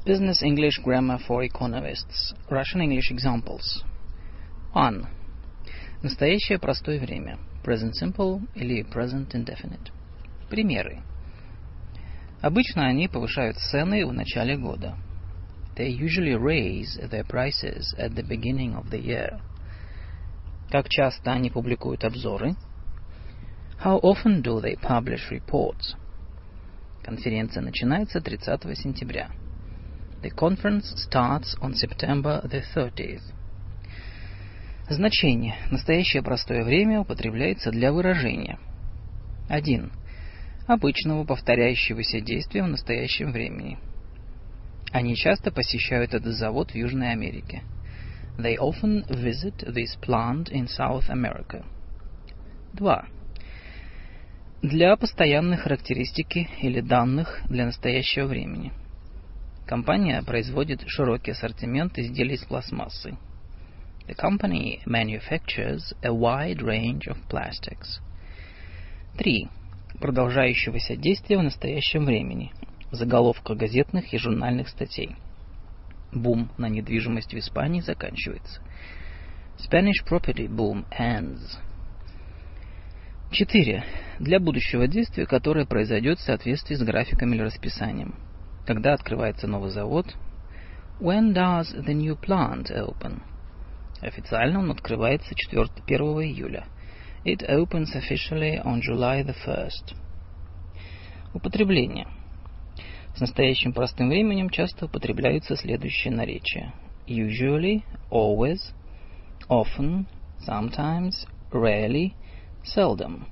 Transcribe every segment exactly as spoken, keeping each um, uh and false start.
Business English Grammar for Economists. Russian English Examples. one. Настоящее простое время. Present Simple или Present Indefinite. Примеры. Обычно они повышают цены в начале года. They usually raise their prices at the beginning of the year. Как часто они публикуют обзоры? How often do they publish reports? Конференция начинается тридцатого сентября. The conference starts on September the thirtieth. Значение. Настоящее простое время употребляется для выражения. один. Обычного повторяющегося действия в настоящем времени. Они часто посещают этот завод в Южной Америке. They often visit this plant in South America. два. Для постоянной характеристики или данных для настоящего времени. Компания производит широкий ассортимент изделий из пластмассы. The company manufactures a wide range of plastics. три. Продолжающегося действия в настоящем времени. Заголовка газетных и журнальных статей. Бум на недвижимость в Испании заканчивается. Spanish property boom ends. четыре. Для будущего действия, которое произойдет в соответствии с графиком или расписанием. Когда открывается новый завод? When does the new plant open? Официально он открывается первого июля. It opens officially on July the first. Употребление. С настоящим простым временем часто употребляются следующие наречия. Usually, always, often, sometimes, rarely, seldom.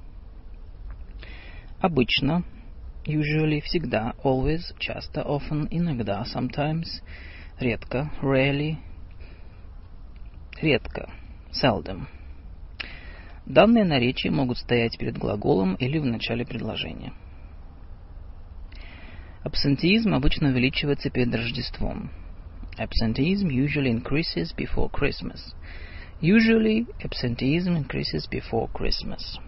Обычно. Usually, всегда, always, часто, often, иногда, sometimes, редко, rarely, редко, seldom. Данные наречия могут стоять перед глаголом или в начале предложения. Абсентеизм обычно увеличивается перед Рождеством. Absenteeism usually increases before Christmas. Usually, absenteeism increases before Christmas.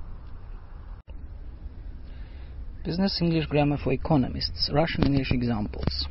Business English Grammar for Economists. Russian English Examples.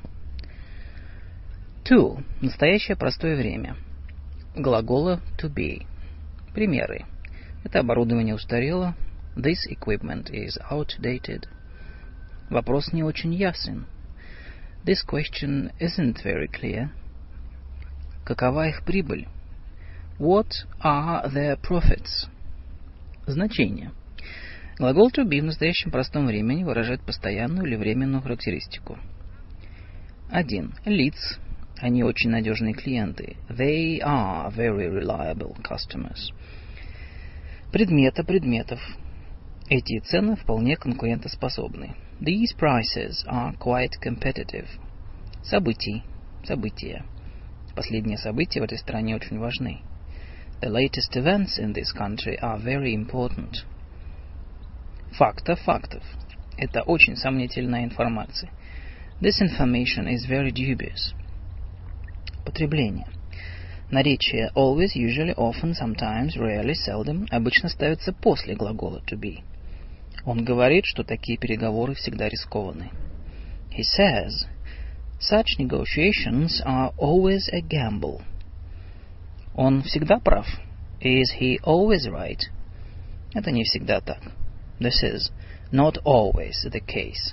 two. Настоящее простое время. Глагола to be. Примеры. Это оборудование устарело. This equipment is outdated. Вопрос не очень ясен. This question isn't very clear. Какова их прибыль? What are their profits? Значение. Глагол to be в настоящем простом времени выражает постоянную или временную характеристику. один. Лиц. Они очень надежные клиенты. They are very reliable customers. Предмета, предметов. Эти цены вполне конкурентоспособны. These prices are quite competitive. Событий, события. Последние события в этой стране очень важны. The latest events in this country are very important. Факта, фактов. Это очень сомнительная информация. This information is very dubious. Потребление. Наречие always, usually, often, sometimes, rarely, seldom обычно ставится после глагола to be. Он говорит, что такие переговоры всегда рискованны. He says, such negotiations are always a gamble. Он всегда прав. Is he always right? Это не всегда так. This is not always the case.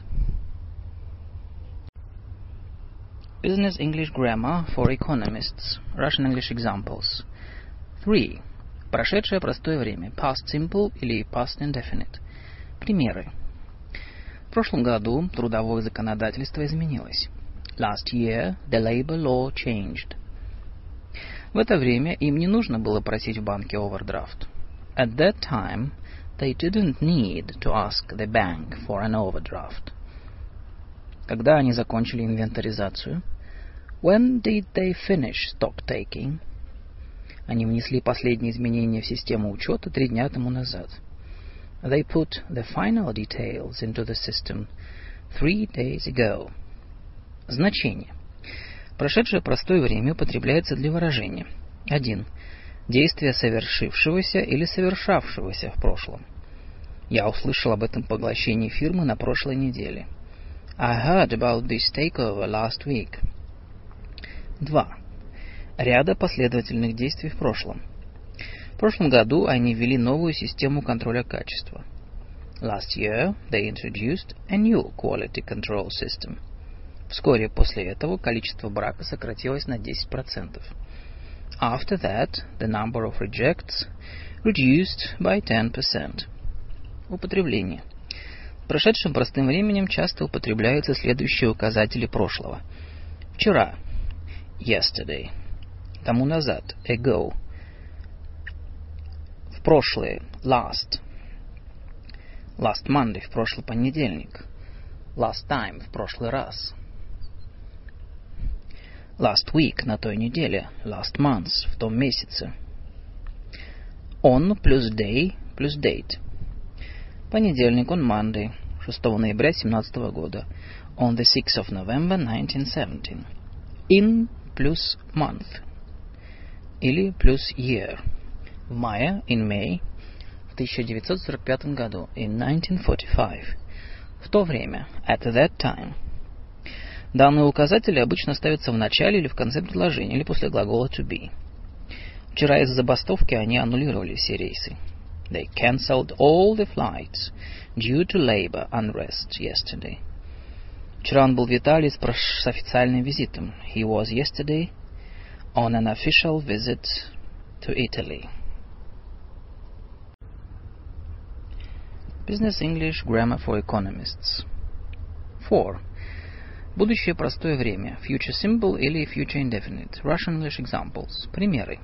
Business English Grammar for Economists. Russian English Examples. three. Прошедшее простое время. Past Simple или Past Indefinite. Примеры. В прошлом году трудовое законодательство изменилось. Last year, the labor law changed. В это время им не нужно было просить в банке овердрафт. At that time, they didn't need to ask the bank for an overdraft. Когда они закончили инвентаризацию? When did they finish stock-taking? Они внесли последние изменения в систему учета три дня тому назад. They put the final details into the system three days ago. Значение. Прошедшее простое время употребляется для выражения. один. Действие совершившегося или совершавшегося в прошлом. Я услышал об этом поглощении фирмы на прошлой неделе. I heard about this takeover last week. два. Ряда последовательных действий в прошлом. В прошлом году они ввели новую систему контроля качества. Last year they introduced a new quality control system. Вскоре после этого количество брака сократилось на десять процентов. After that, the number of rejects reduced by ten percent. Употребление. В прошедшем простым временем часто употребляются следующие указатели прошлого. Вчера. Yesterday. Тому назад. Ago. В прошлое. Last. Last Monday. В прошлый понедельник. Last time. В прошлый раз. Last week. На той неделе. Last month. В том месяце. On плюс day плюс date. Понедельник. On Monday. шестого ноября семнадцатого года. On the sixth of November nineteen seventeen. In плюс month. Или плюс year. В мае. In May. В тысяча девятьсот сорок пятом году. In nineteen forty-five. В то время. At that time. Данные указатели обычно ставятся в начале или в конце предложения, или после глагола to be. Вчера из-за забастовки они аннулировали все рейсы. They cancelled all the flights due to labor unrest yesterday. Вчера он был в Италии с официальным визитом. He was yesterday on an official visit to Italy. Business English Grammar for Economists. four. Будущее простое время. Future simple или future indefinite. Russian English examples. Примеры.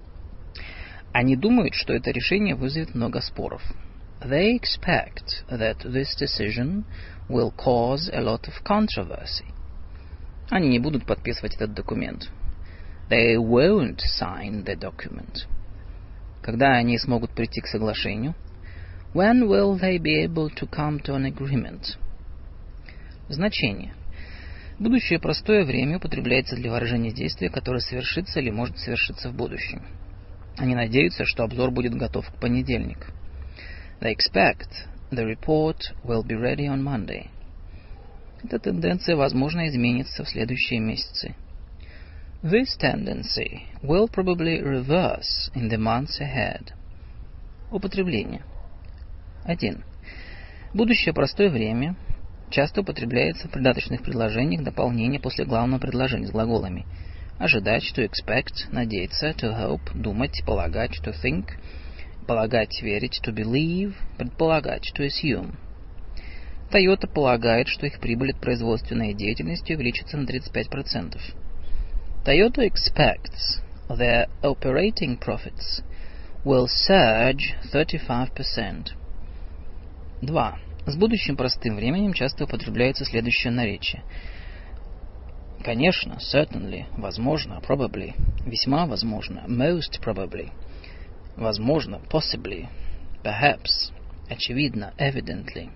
Они думают, что это решение вызовет много споров. They expect that this decision will cause a lot of controversy. Они не будут подписывать этот документ. They won't sign the document. Когда они смогут прийти к соглашению? When will they be able to come to an agreement? Значение. Будущее простое время употребляется для выражения действия, которое совершится или может совершиться в будущем. Они надеются, что обзор будет готов к понедельнику. They expect the report will be ready on Monday. Эта тенденция, возможно, изменится в следующие месяцы. This tendency will probably reverse in the months ahead. Употребление. один. Будущее простое время часто употребляется в придаточных предложениях дополнения после главного предложения с глаголами ожидать, to expect, надеяться, to hope, думать, полагать, to think, полагать, верить, to believe, предполагать, to assume. Toyota полагает, что их прибыль от производственной деятельности увеличится на тридцать пять процентов. Toyota expects their operating profits will surge thirty-five percent. два. С будущим простым временем часто употребляется следующее наречие. Конечно, certainly, возможно, probably, весьма возможно, most probably, возможно, possibly, perhaps, очевидно, evidently.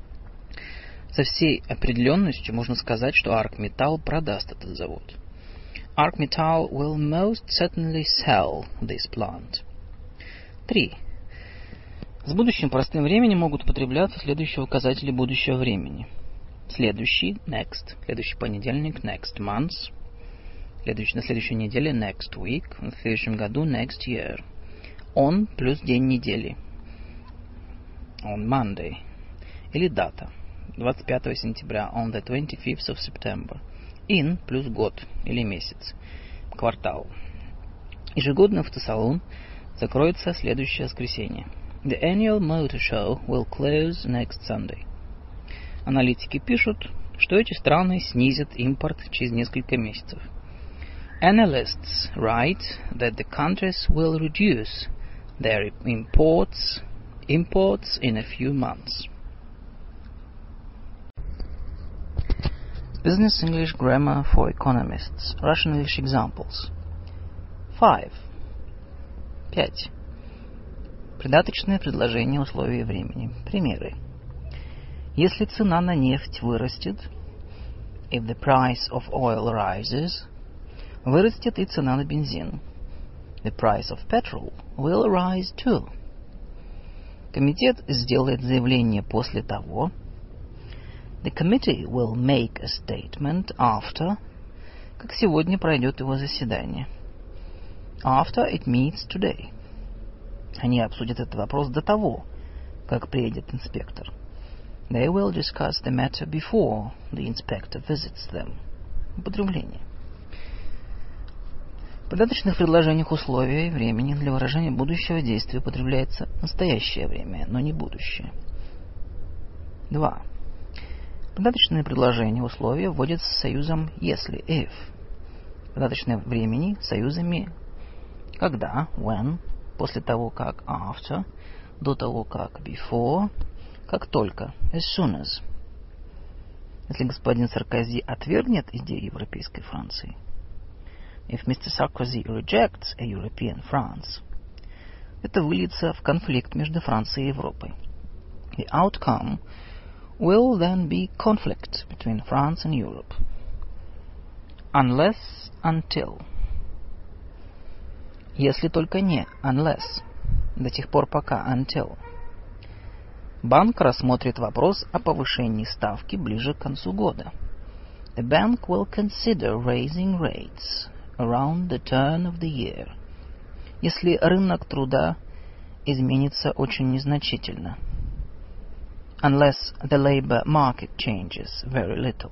Со всей определенностью можно сказать, что ArcelorMittal продаст этот завод. ArcelorMittal will most certainly sell this plant. три. С будущим простым временем могут употребляться следующие указатели будущего времени. Следующий, next, следующий понедельник, next month, следующий, на следующей неделе, next week, в следующем году, next year. On плюс день недели, on Monday, или дата, двадцать пятого сентября, on the twenty-fifth of September. In плюс год или месяц, квартал. Ежегодный автосалон закроется следующее воскресенье. The annual motor show will close next Sunday. Аналитики пишут, что эти страны снизят импорт через несколько месяцев. Analysts write that the countries will reduce their imports, imports in a few months. Business English Grammar for Economists. Russian English examples. five. пять. Придаточное предложение условия времени. Примеры. Если цена на нефть вырастет, if the price of oil rises, вырастет и цена на бензин. The price of petrol will rise too. Комитет сделает заявление после того. The committee will make a statement after, как сегодня пройдет его заседание. After it meets today. Они обсудят этот вопрос до того, как приедет инспектор. They will discuss the matter before the inspector visits them. Употребление. В придаточных предложениях условия и времени для выражения будущего действия употребляется настоящее время, но не будущее. два. Придаточные предложения условия вводятся с союзом «если» if. Придаточное времени союзами «когда» when, после того как after, до того как before, как только as soon as. Если господин Саркози отвергнет идею европейской Франции, if Mister Sarkozy rejects a European France, это выльется в конфликт между Францией и Европой. The outcome will then be conflict between France and Europe. Unless, until. Если только не unless, до тех пор пока until. Банк рассмотрит вопрос о повышении ставки ближе к концу года. The bank will consider raising rates around the turn of the year, если рынок труда изменится очень незначительно. Unless the labor market changes very little.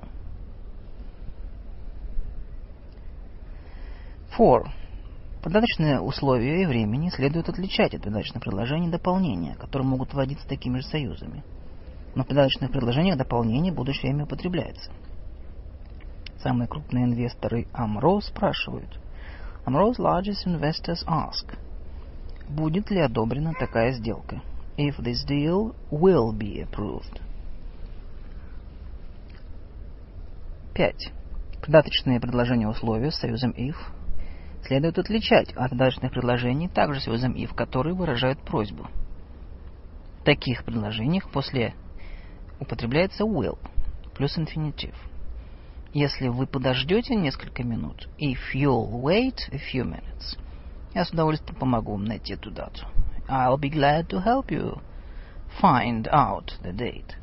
four. Придаточные условия и времени следует отличать от придаточных предложений дополнения, которые могут вводиться такими же союзами. Но в придаточных предложениях дополнение будущее время употребляется. Самые крупные инвесторы Amro спрашивают. Amro's largest investors ask, будет ли одобрена такая сделка? If this deal will be approved. пять. Придаточные предложения условия с союзом if следует отличать от придаточных предложений также с союзом if, которые выражают просьбу. В таких предложениях после употребляется will плюс инфинитив. Если вы подождете несколько минут, if you'll wait a few minutes, я с удовольствием помогу вам найти эту дату. I'll be glad to help you find out the date.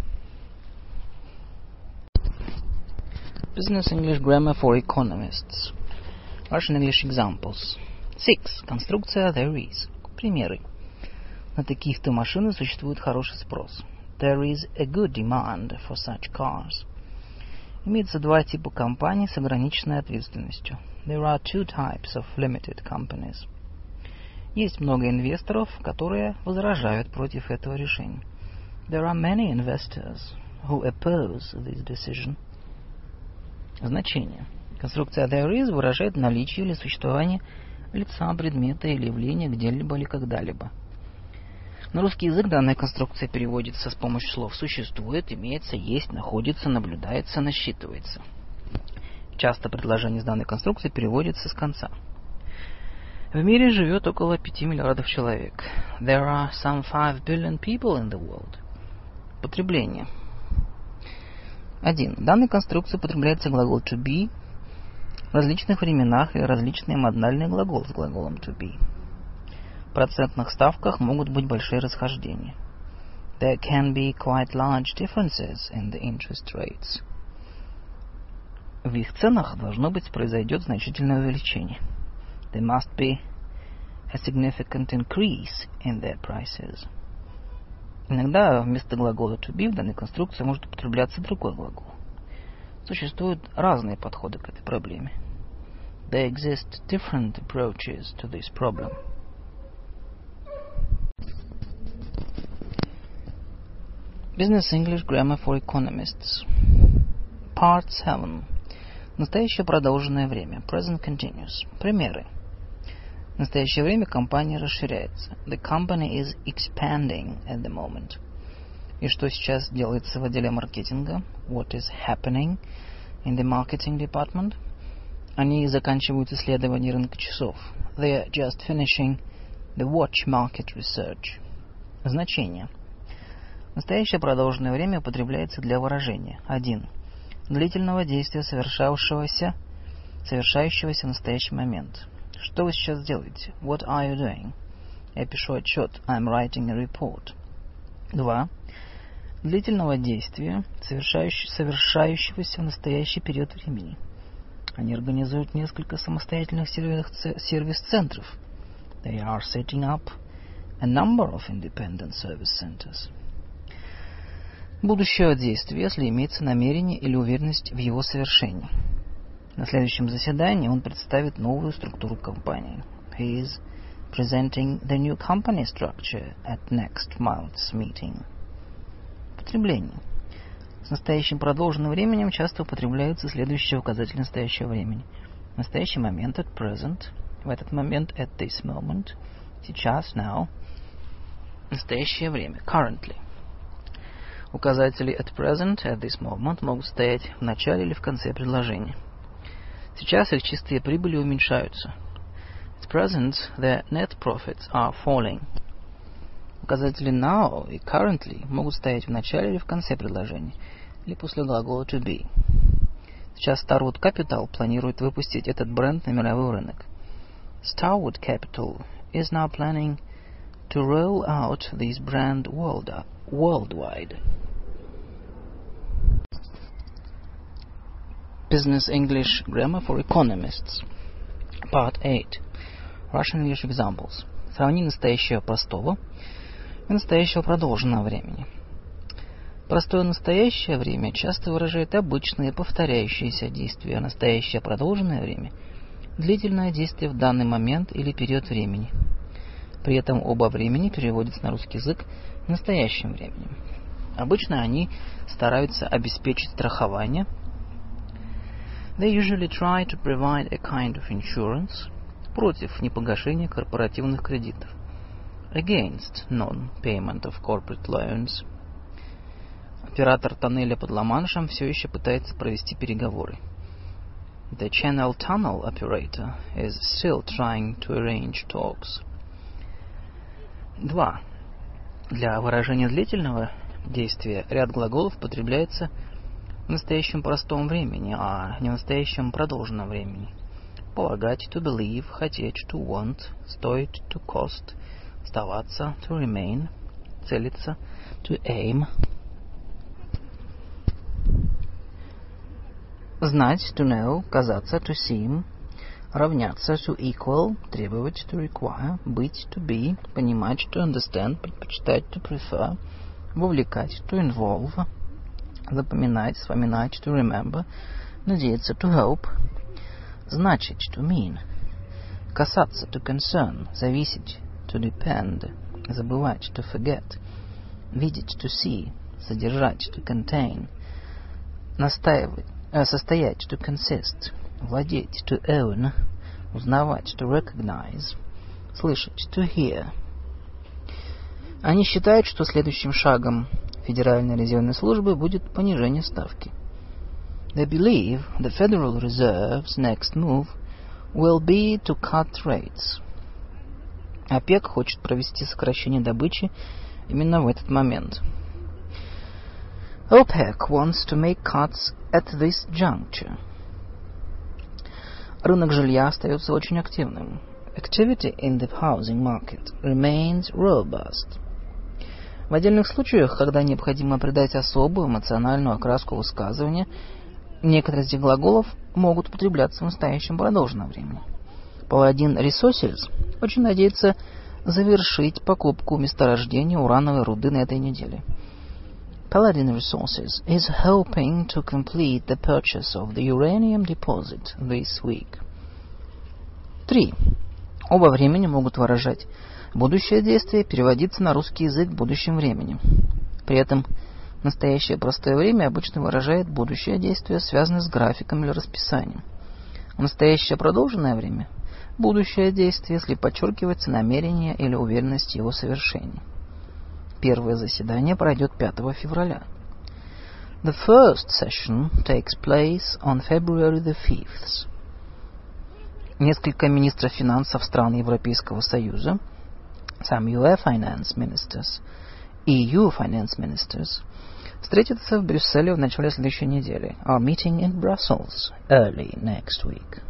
Business English Grammar for Economists. Russian English examples. six. Конструкция there is. Примеры. На таких-то машины существует хороший спрос. There is a good demand for such cars. Имеется два типа компаний с ограниченной ответственностью. There are two types of limited companies. Есть много инвесторов, которые возражают против этого решения. There are many investors who oppose this decision. Значение. Конструкция there is выражает наличие или существование лица, предмета или явления где-либо или когда-либо. На русский язык данная конструкция переводится с помощью слов «существует», «имеется», «есть», «находится», «наблюдается», «насчитывается». Часто предложение с данной конструкцией переводится с конца. В мире живет около пяти миллиардов человек. There are some five billion people in the world. Употребление. один. В данной конструкции употребляется глагол to be в различных временах и различные модальные глаголы с глаголом to be. В процентных ставках могут быть большие расхождения. There can be quite large differences in the interest rates. В их ценах должно быть произойдет значительное увеличение. There must be a significant increase in their prices. Иногда вместо глагола to be в данной конструкции может употребляться другой глагол. Существуют разные подходы к этой проблеме. There exist different approaches to this problem. Business English Grammar for Economists. Part seven. Настоящее продолженное время. Present continuous. Примеры. В настоящее время компания расширяется. The company is expanding at the moment. И что сейчас делается в отделе маркетинга? What is happening in the marketing department? Они заканчивают исследование рынка часов. They are just finishing the watch market research. Значение. Настоящее продолженное время употребляется для выражения. один. Длительного действия, совершавшегося, совершающегося в настоящий момент. Что вы сейчас делаете? What are you doing? Я пишу отчет. I'm writing a report. два. длительного действия, совершающегося в настоящий период времени. Они организуют несколько самостоятельных сервис-центров. They are setting up a number of independent service centers. Будущее действие, если имеется намерение или уверенность в его совершении. На следующем заседании он представит новую структуру компании. He is presenting the new company structure at next month's meeting. Употребление. С настоящим продолженным временем часто употребляются следующие указатели настоящего времени. В настоящий момент, at present, в этот момент, at this moment, сейчас, now, настоящее время, currently. Указатели at present, at this moment могут стоять в начале или в конце предложения. Сейчас их чистые прибыли уменьшаются. At present, their net profits are falling. Указатели now и currently могут стоять в начале или в конце предложения, или после глагола to be. Сейчас Starwood Capital планирует выпустить этот бренд на мировой рынок. Starwood Capital is now planning to roll out this brand world worldwide. Business English Grammar for Economists. Part eight. Russian English Examples. Сравни настоящего простого и настоящего продолженного времени. Простое настоящее время часто выражает обычные повторяющиеся действия, а настоящее продолженное время – длительное действие в данный момент или период времени. При этом оба времени переводятся на русский язык настоящим временем. Обычно они стараются обеспечить страхование. They usually try to provide a kind of insurance против непогашения корпоративных кредитов. Against non-payment of corporate loans. Оператор тоннеля под Ла-Маншем все еще пытается провести переговоры. The Channel Tunnel operator is still trying to arrange talks. Два. Для выражения длительного действия ряд глаголов употребляется в настоящем простом времени, а не в настоящем продолженном времени. Полагать, to believe, хотеть, to want, стоить, to cost, оставаться, to remain, целиться, to aim. Знать, to know, казаться, to seem, равняться, to equal, требовать, to require, быть, to be, понимать, to understand, предпочитать, to prefer, вовлекать, to involve, запоминать, вспоминать, to remember, надеяться, to hope, значить, to mean, касаться, to concern, зависеть, to depend, забывать, to forget, видеть, to see, содержать, to contain, настаивать, э, состоять, to consist, владеть, to own, узнавать, to recognize, слышать, to hear. Они считают, что следующим шагом Федеральной резервной службы будет понижение ставки. They believe the Federal Reserve's next move will be to cut rates. ОПЕК хочет провести сокращение добычи именно в этот момент. OPEC wants to make cuts at this juncture. Рынок жилья остается очень активным. Activity in the housing market remains robust. В отдельных случаях, когда необходимо придать особую эмоциональную окраску высказывания, некоторые из этих глаголов могут употребляться в настоящем продолженном времени. Паладин Resources очень надеется завершить покупку месторождения урановой руды на этой неделе. Paladin Resources is hoping to complete the purchase of the uranium deposit this week. Три. Оба времени могут выражать будущее действие, переводиться на русский язык будущим временем. При этом настоящее простое время обычно выражает будущее действие, связанное с графиком или расписанием. А настоящее продолженное время – будущее действие, если подчеркивается намерение или уверенность в его совершении. Первое заседание пройдет пятого февраля. The first session takes place on February the fifth. Несколько министров финансов стран Европейского Союза, some ю эф finance ministers, и ю finance ministers, встретятся в Брюсселе в начале следующей недели. Are meeting in Brussels early next week.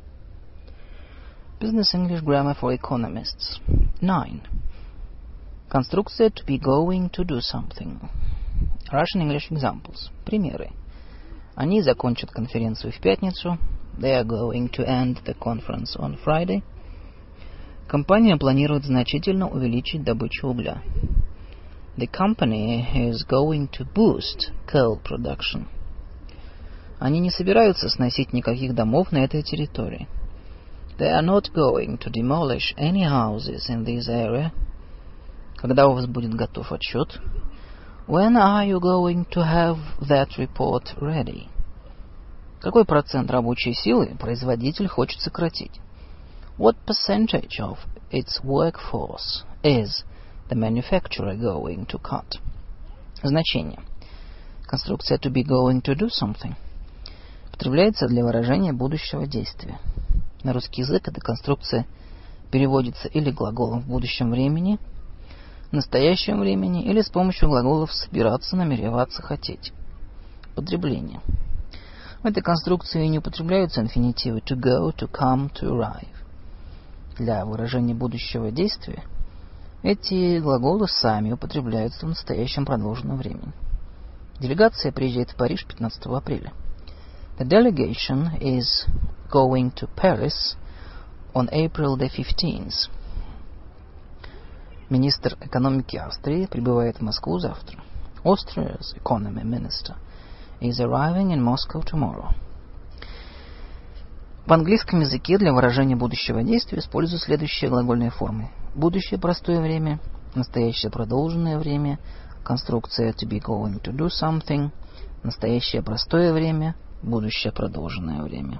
Business English Grammar for Economists. nine. Конструкция to be going to do something. Russian English examples. Примеры. Они закончат конференцию в пятницу. They are going to end the conference on Friday. Компания планирует значительно увеличить добычу угля. The company is going to boost coal production. Они не собираются сносить никаких домов на этой территории. They are not going to demolish any houses in this area. Когда у вас будет готов отчет? When are you going to have that report ready? Какой процент рабочей силы производитель хочет сократить? What percentage of its workforce is the manufacturer going to cut? Значение. Конструкция to be going to do something употребляется для выражения будущего действия. На русский язык эта конструкция переводится или глаголом в будущем времени, в настоящем времени, или с помощью глаголов собираться, намереваться, хотеть. Употребление. В этой конструкции не употребляются инфинитивы to go, to come, to arrive. Для выражения будущего действия эти глаголы сами употребляются в настоящем продолженном времени. Делегация приезжает в Париж пятнадцатого апреля. The delegation is going to Paris on April the fifteenth. Министр экономики Австрии прибывает в Москву завтра. Austria's economy minister is arriving in Moscow tomorrow. В английском языке для выражения будущего действия используют следующие глагольные формы. Будущее простое время, настоящее продолженное время, конструкция to be going to do something, настоящее простое время, будущее продолженное время.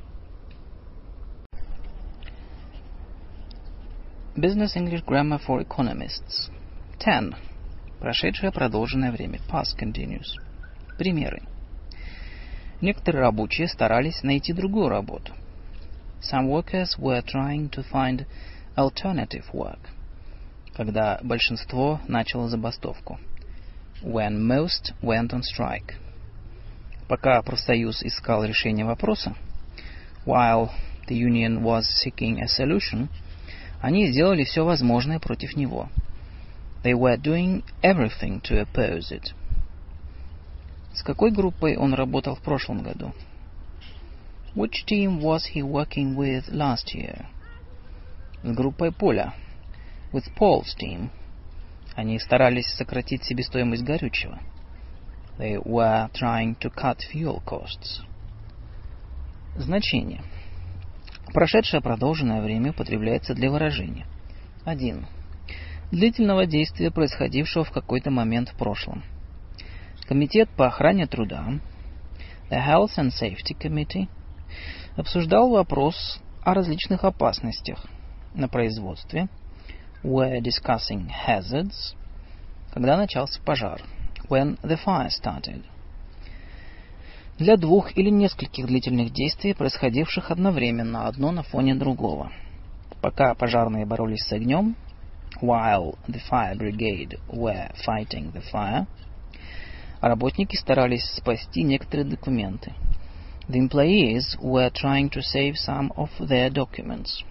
Business English Grammar for Economists. ten. Прошедшее продолженное время. Past continuous. Примеры. Некоторые рабочие старались найти другую работу. Some workers were trying to find alternative work. Когда большинство начало забастовку. When most went on strike. Пока профсоюз искал решение вопроса. While the union was seeking a solution, они сделали все возможное против него. They were doing everything to oppose it. С какой группой он работал в прошлом году? Which team was he working with last year? С группой Поля. With Paul's team. Они старались сократить себестоимость горючего. They were trying to cut fuel costs. Значение. Прошедшее продолженное время употребляется для выражения. один. Длительного действия, происходившего в какой-то момент в прошлом. Комитет по охране труда, the Health and Safety Committee, обсуждал вопрос о различных опасностях на производстве, were discussing hazards, когда начался пожар, when the fire started. Для двух или нескольких длительных действий, происходивших одновременно, одно на фоне другого. Пока пожарные боролись с огнем, while the fire brigade were fighting the fire, работники старались спасти некоторые документы. The employees were trying to save some of their documents.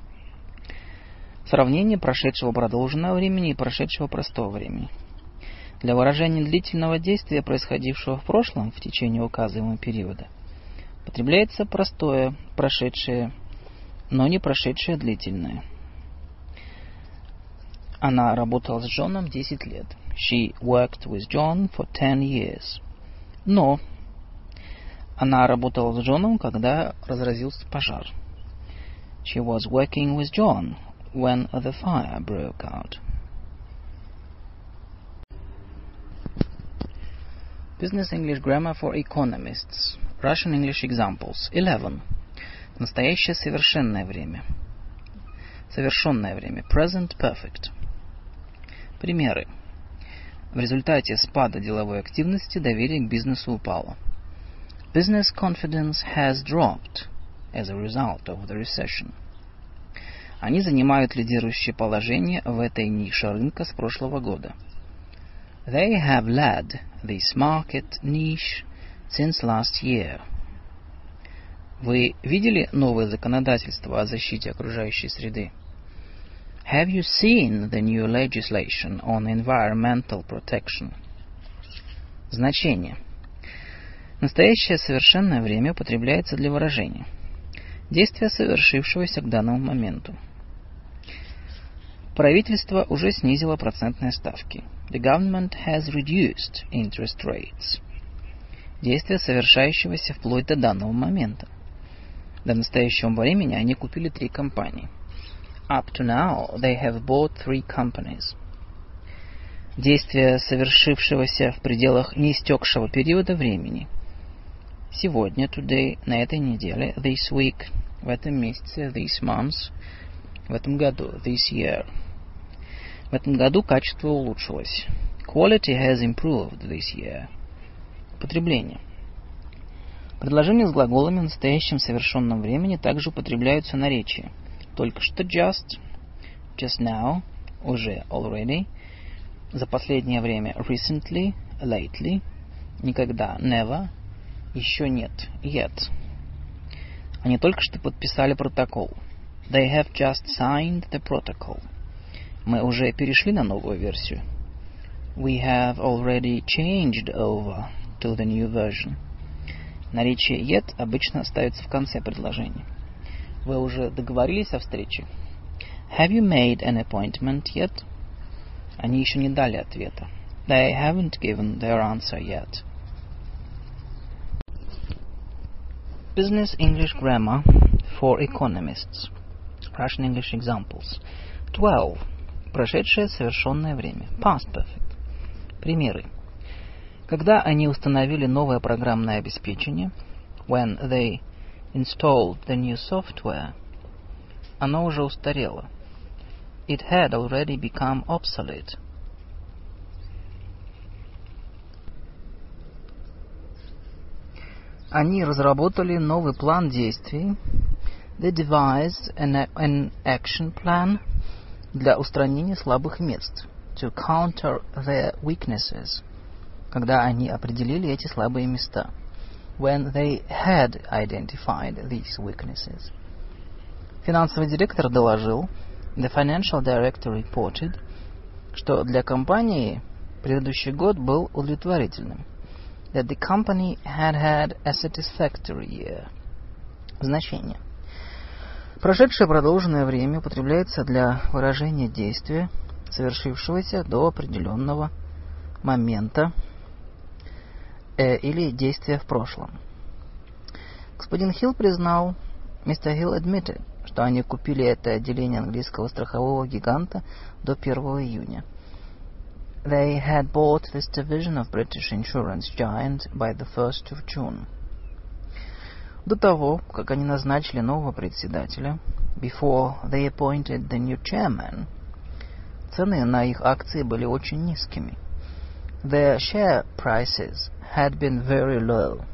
Сравнение прошедшего продолженного времени и прошедшего простого времени. Для выражения длительного действия, происходившего в прошлом в течение указываемого периода, употребляется простое, прошедшее, но не прошедшее длительное. Она работала с Джоном десять лет. She worked with John for ten years. Но она работала с Джоном, когда разразился пожар. She was working with John when the fire broke out. Business English Grammar for Economists. Russian English Examples. eleven. Настоящее совершенное время. Совершенное время. Present Perfect. Примеры. В результате спада деловой активности доверие к бизнесу упало. Business confidence has dropped as a result of the recession. Они занимают лидирующее положение в этой нише рынка с прошлого года. They have led this market niche since last year. Вы видели новое законодательство о защите окружающей среды? Have you seen the new legislation on environmental protection? Значение. Настоящее совершенное время употребляется для выражения действия, совершившегося к данному моменту. Правительство уже снизило процентные ставки. The government has reduced interest rates. Действие, совершающегося вплоть до данного момента. До настоящего времени они купили три компании. Up to now, they have bought three companies. Действие, совершившегося в пределах неистекшего периода времени. Сегодня, today, на этой неделе, this week, в этом месяце, this month, в этом году, this year. В этом году качество улучшилось. Quality has improved this year. Употребление. Предложения с глаголами в настоящем совершенном времени также употребляются наречия. Только что just, just now, уже already, за последнее время recently, lately, никогда never, еще нет yet. Они только что подписали протокол. They have just signed the protocol. Мы уже перешли на новую версию. We have already changed over to the new version. Наречие yet обычно ставится в конце предложения. Вы уже договорились о встрече? Have you made an appointment yet? Они еще не дали ответа. They haven't given their answer yet. Business English Grammar for Economists. Russian English Examples. twelve. Прошедшее совершенное время. Past Perfect. Примеры. Когда они установили новое программное обеспечение, when they installed the new software, оно уже устарело. It had already become obsolete. Они разработали новый план действий. They devised an, an action plan для устранения слабых мест. To counter their weaknesses. Когда они определили эти слабые места. When they had identified these weaknesses. Финансовый директор доложил. The financial director reported, что для компании предыдущий год был удовлетворительным. That the company had had a satisfactory year. Значение. Прошедшее продолженное время употребляется для выражения действия, совершившегося до определенного момента э, или действия в прошлом. Господин Хилл признал, мистер Хилл admitted, что они купили это отделение английского страхового гиганта до первого июня. They had bought this division of British insurance giant by the first of June. До того, как они назначили нового председателя, before they appointed the new chairman, цены на их акции были очень низкими. Their share prices had been very low.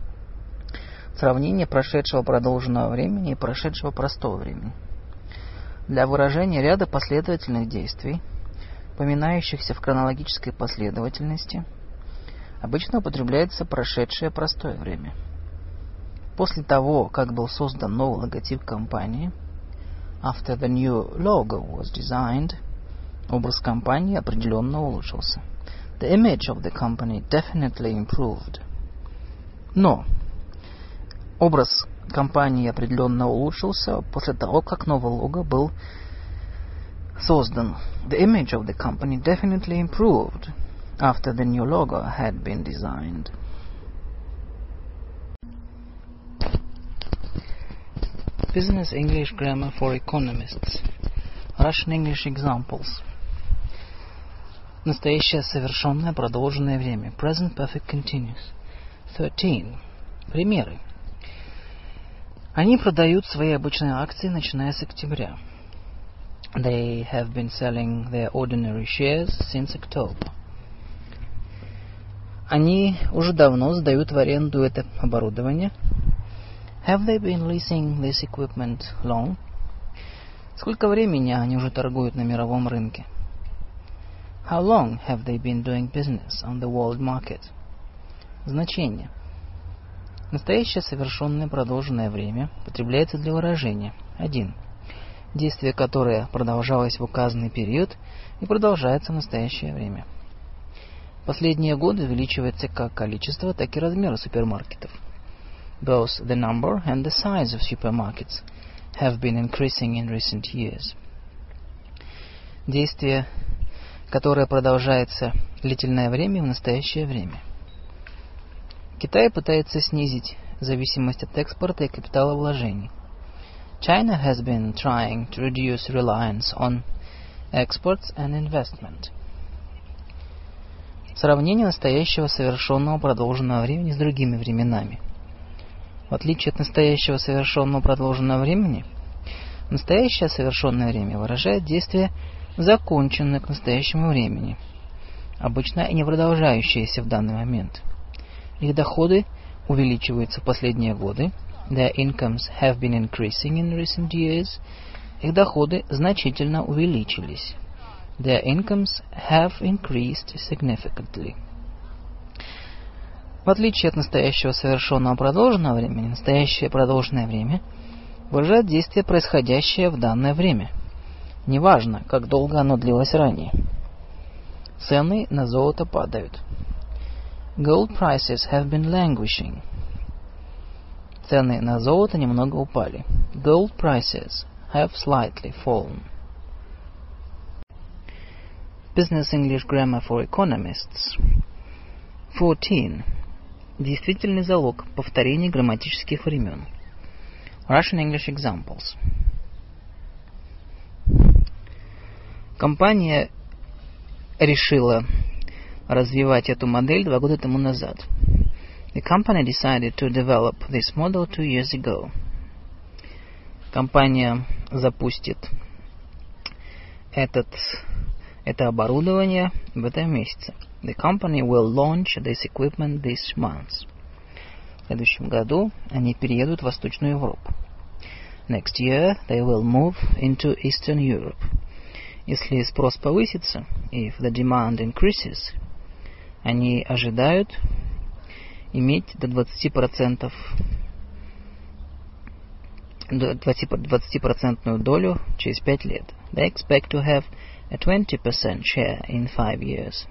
Сравнение прошедшего продолженного времени и прошедшего простого времени. Для выражения ряда последовательных действий, поминающихся в хронологической последовательности, обычно употребляется прошедшее простое время. После того, как был создан новый логотип компании, after the new logo was designed, образ компании определенно улучшился. The image of the company definitely improved. Но образ компании определенно улучшился после того, как новый лого был создан. The image of the company definitely improved after the new logo had been designed. Business English Grammar for Economists. Russian English Examples. Настоящее совершенное продолженное время. Present Perfect Continuous. thirteen. Примеры. Они продают свои обычные акции, начиная с октября. They have been selling their ordinary shares since October. Они уже давно сдают в аренду это оборудование. Have they been leasing this equipment long? Сколько времени они уже торгуют на мировом рынке? How long have they been doing business on the world market? Значение. Настоящее совершенное продолженное время употребляется для выражения. один. действие которое продолжалось в указанный период и продолжается в настоящее время. Последние годы увеличивается как количество, так и размеры супермаркетов. Both the number and the size of supermarkets have been increasing in recent years. Действие, которое продолжается длительное время в настоящее время. Китай пытается снизить зависимость от экспорта и капиталовложений. China has been trying to reduce reliance on exports and investment. Сравнение настоящего совершенного продолженного времени с другими временами. В отличие от настоящего совершенного продолженного времени, настоящее совершенное время выражает действие, законченное к настоящему времени, обычно не продолжающееся в данный момент. Их доходы увеличиваются в последние годы. Their incomes have been increasing in recent years. Их доходы значительно увеличились. Their incomes have increased significantly. В отличие от настоящего совершенного продолженного времени, настоящее продолженное время выражает действие, происходящее в данное время. Неважно, как долго оно длилось ранее. Цены на золото падают. Gold prices have been languishing. Цены на золото немного упали. Gold prices have slightly fallen. Business English Grammar for Economists. fourteen. Действительный залог повторения грамматических времен. Russian English examples. Компания решила развивать эту модель два года тому назад. The company decided to develop this model two years ago. Компания запустит этот, это оборудование в этом месяце. The company will launch this equipment this month. В следующем году они переедут в Восточную Европу. Next year they will move into Eastern Europe. Если спрос повысится, if the demand increases, они ожидают иметь до двадцати процентов двадцатипроцентную долю через пять лет. They expect to have a twenty percent share in five years.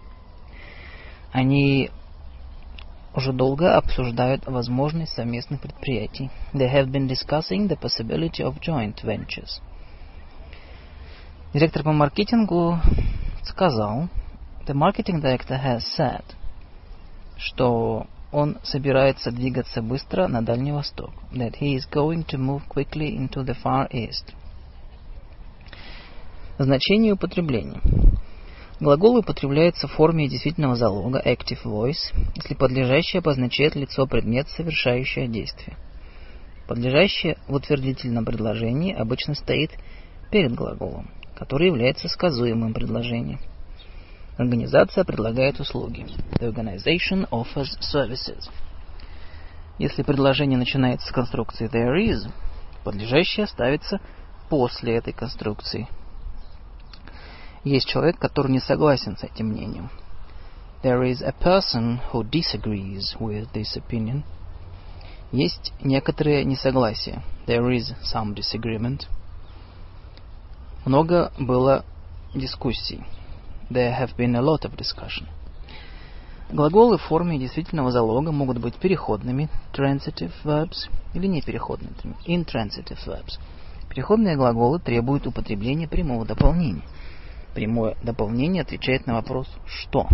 Они уже долго обсуждают возможность совместных предприятий. They have been discussing the possibility of joint ventures. Директор по маркетингу сказал, the marketing director has said, что он собирается двигаться быстро на Дальний Восток. That he is going to move quickly into the Far East. Значение употребления. Глагол употребляется в форме действительного залога active voice, если подлежащее обозначает лицо, предмет, совершающее действие. Подлежащее в утвердительном предложении обычно стоит перед глаголом, который является сказуемым предложением. Организация предлагает услуги. The organization offers services. Если предложение начинается с конструкции there is, подлежащее ставится после этой конструкции. Есть человек, который не согласен с этим мнением. There is a person who disagrees with this opinion. Есть некоторые несогласия. There is some disagreement. Много было дискуссий. There have been a lot of discussion. Глаголы в форме действительного залога могут быть переходными, transitive verbs, или непереходными, intransitive verbs. Переходные глаголы требуют употребления прямого дополнения. Прямое дополнение отвечает на вопрос «что?».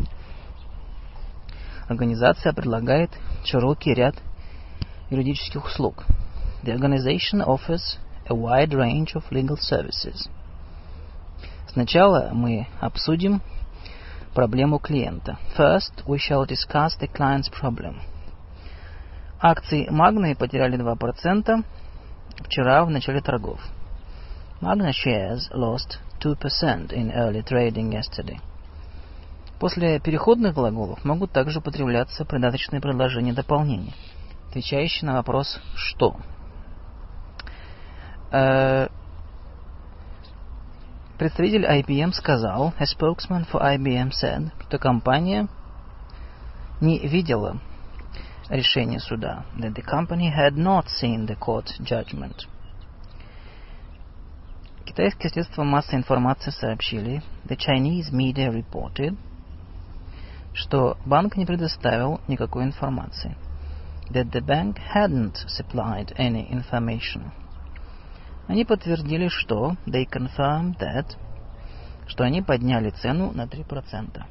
Организация предлагает широкий ряд юридических услуг. The organization offers a wide range of legal services. Сначала мы обсудим проблему клиента. First, we shall discuss the client's problem. Акции Magna потеряли два процента вчера в начале торгов. Magna shares lost two percent in early trading yesterday. После переходных глаголов могут также употребляться придаточные предложения дополнения, отвечающие на вопрос «что?». Э, представитель ай би эм сказал, a spokesman for ай би эм said, что компания не видела решение суда, that the company had not seen the court judgment. Китайские средства массовой информации сообщили, the Chinese media reported, что банк не предоставил никакой информации, that the bank hadn't supplied any information. Они подтвердили, что they confirmed that, что они подняли цену на три процента,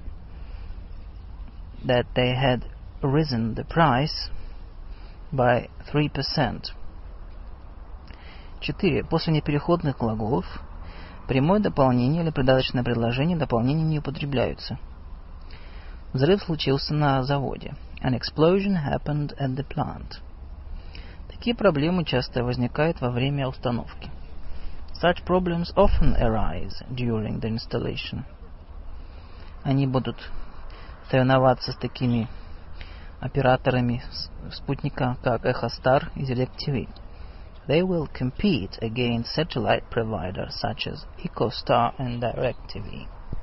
that they had risen the price by three percent. Четыре. После непереходных глаголов прямое дополнение или придаточное предложение дополнения не употребляются. Взрыв случился на заводе. An explosion happened at the plant. Такие проблемы часто возникают во время установки. Such problems often arise during the installation. Они будут соревноваться с такими операторами спутника, как EchoStar и DirecTV. They will compete against satellite providers such as EchoStar and DirecTV.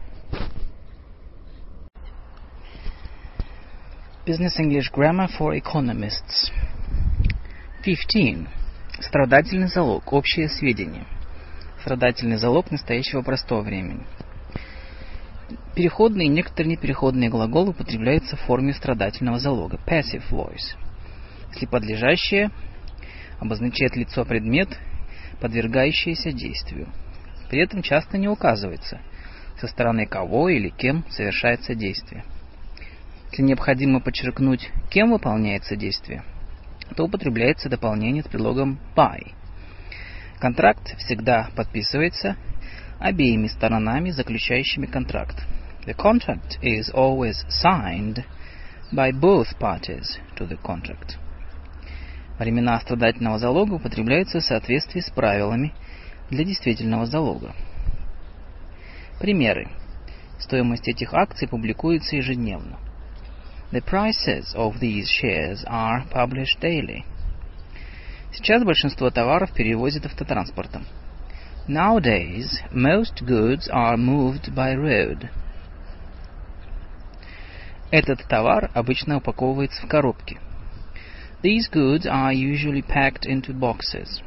Business English Grammar for Economists. fifteen. Страдательный залог. Общее сведение. Страдательный залог настоящего простого времени. Переходные и некоторые непереходные глаголы употребляются в форме страдательного залога. Passive voice. Если подлежащее обозначает лицо-предмет, подвергающееся действию. При этом часто не указывается, со стороны кого или кем совершается действие. Если необходимо подчеркнуть, кем выполняется действие, то употребляется дополнение с предлогом by. Контракт всегда подписывается обеими сторонами, заключающими контракт. The contract is always signed by both parties to the contract. Времена страдательного залога употребляются в соответствии с правилами для действительного залога. Примеры. Стоимость этих акций публикуется ежедневно. The prices of these shares are published daily. Сейчас большинство товаров перевозят автотранспортом. Nowadays, most goods are moved by road. Этот товар обычно упаковывается в коробки. These goods are usually packed into boxes.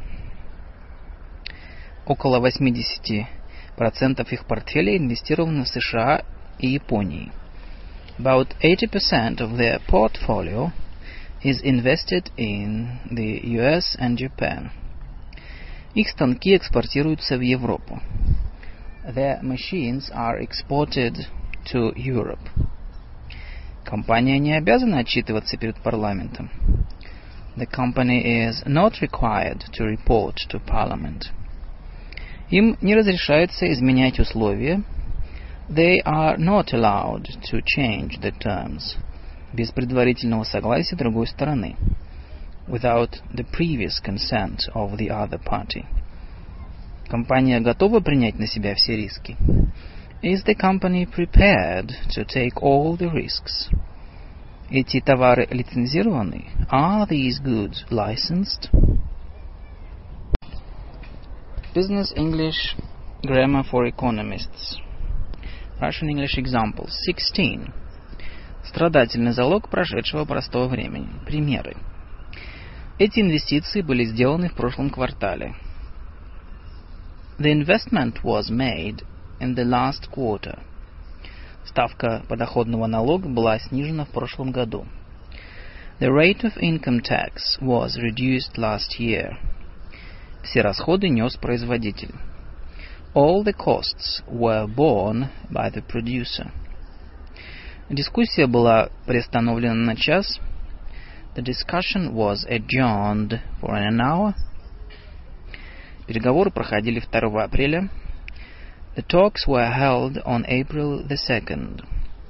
Около восемьдесят процентов их портфелей инвестировано в США и Японии. About eighty percent of their portfolio is invested in the U S and Japan. Их станки экспортируются в Европу. Their machines are exported to Europe. Компания не обязана отчитываться перед парламентом. The company is not required to report to Parliament. Им не разрешается изменять условия. They are not allowed to change the terms. Без предварительного согласия другой стороны. Without the previous consent of the other party. Компания готова принять на себя все риски. Is the company prepared to take all the risks? Эти товары лицензированы? Are these goods licensed? Business English Grammar for Economists. Russian English examples. sixteen. Страдательный залог прошедшего простого времени. Примеры. Эти инвестиции были сделаны в прошлом квартале. The investment was made in the last quarter. Ставка подоходного налога была снижена в прошлом году. The rate of income tax was reduced last year. Все расходы нес производитель. All the costs were borne by the producer. Дискуссия была приостановлена на час. The discussion was adjourned for an hour. Переговоры проходили второго апреля. The talks were held on April the second.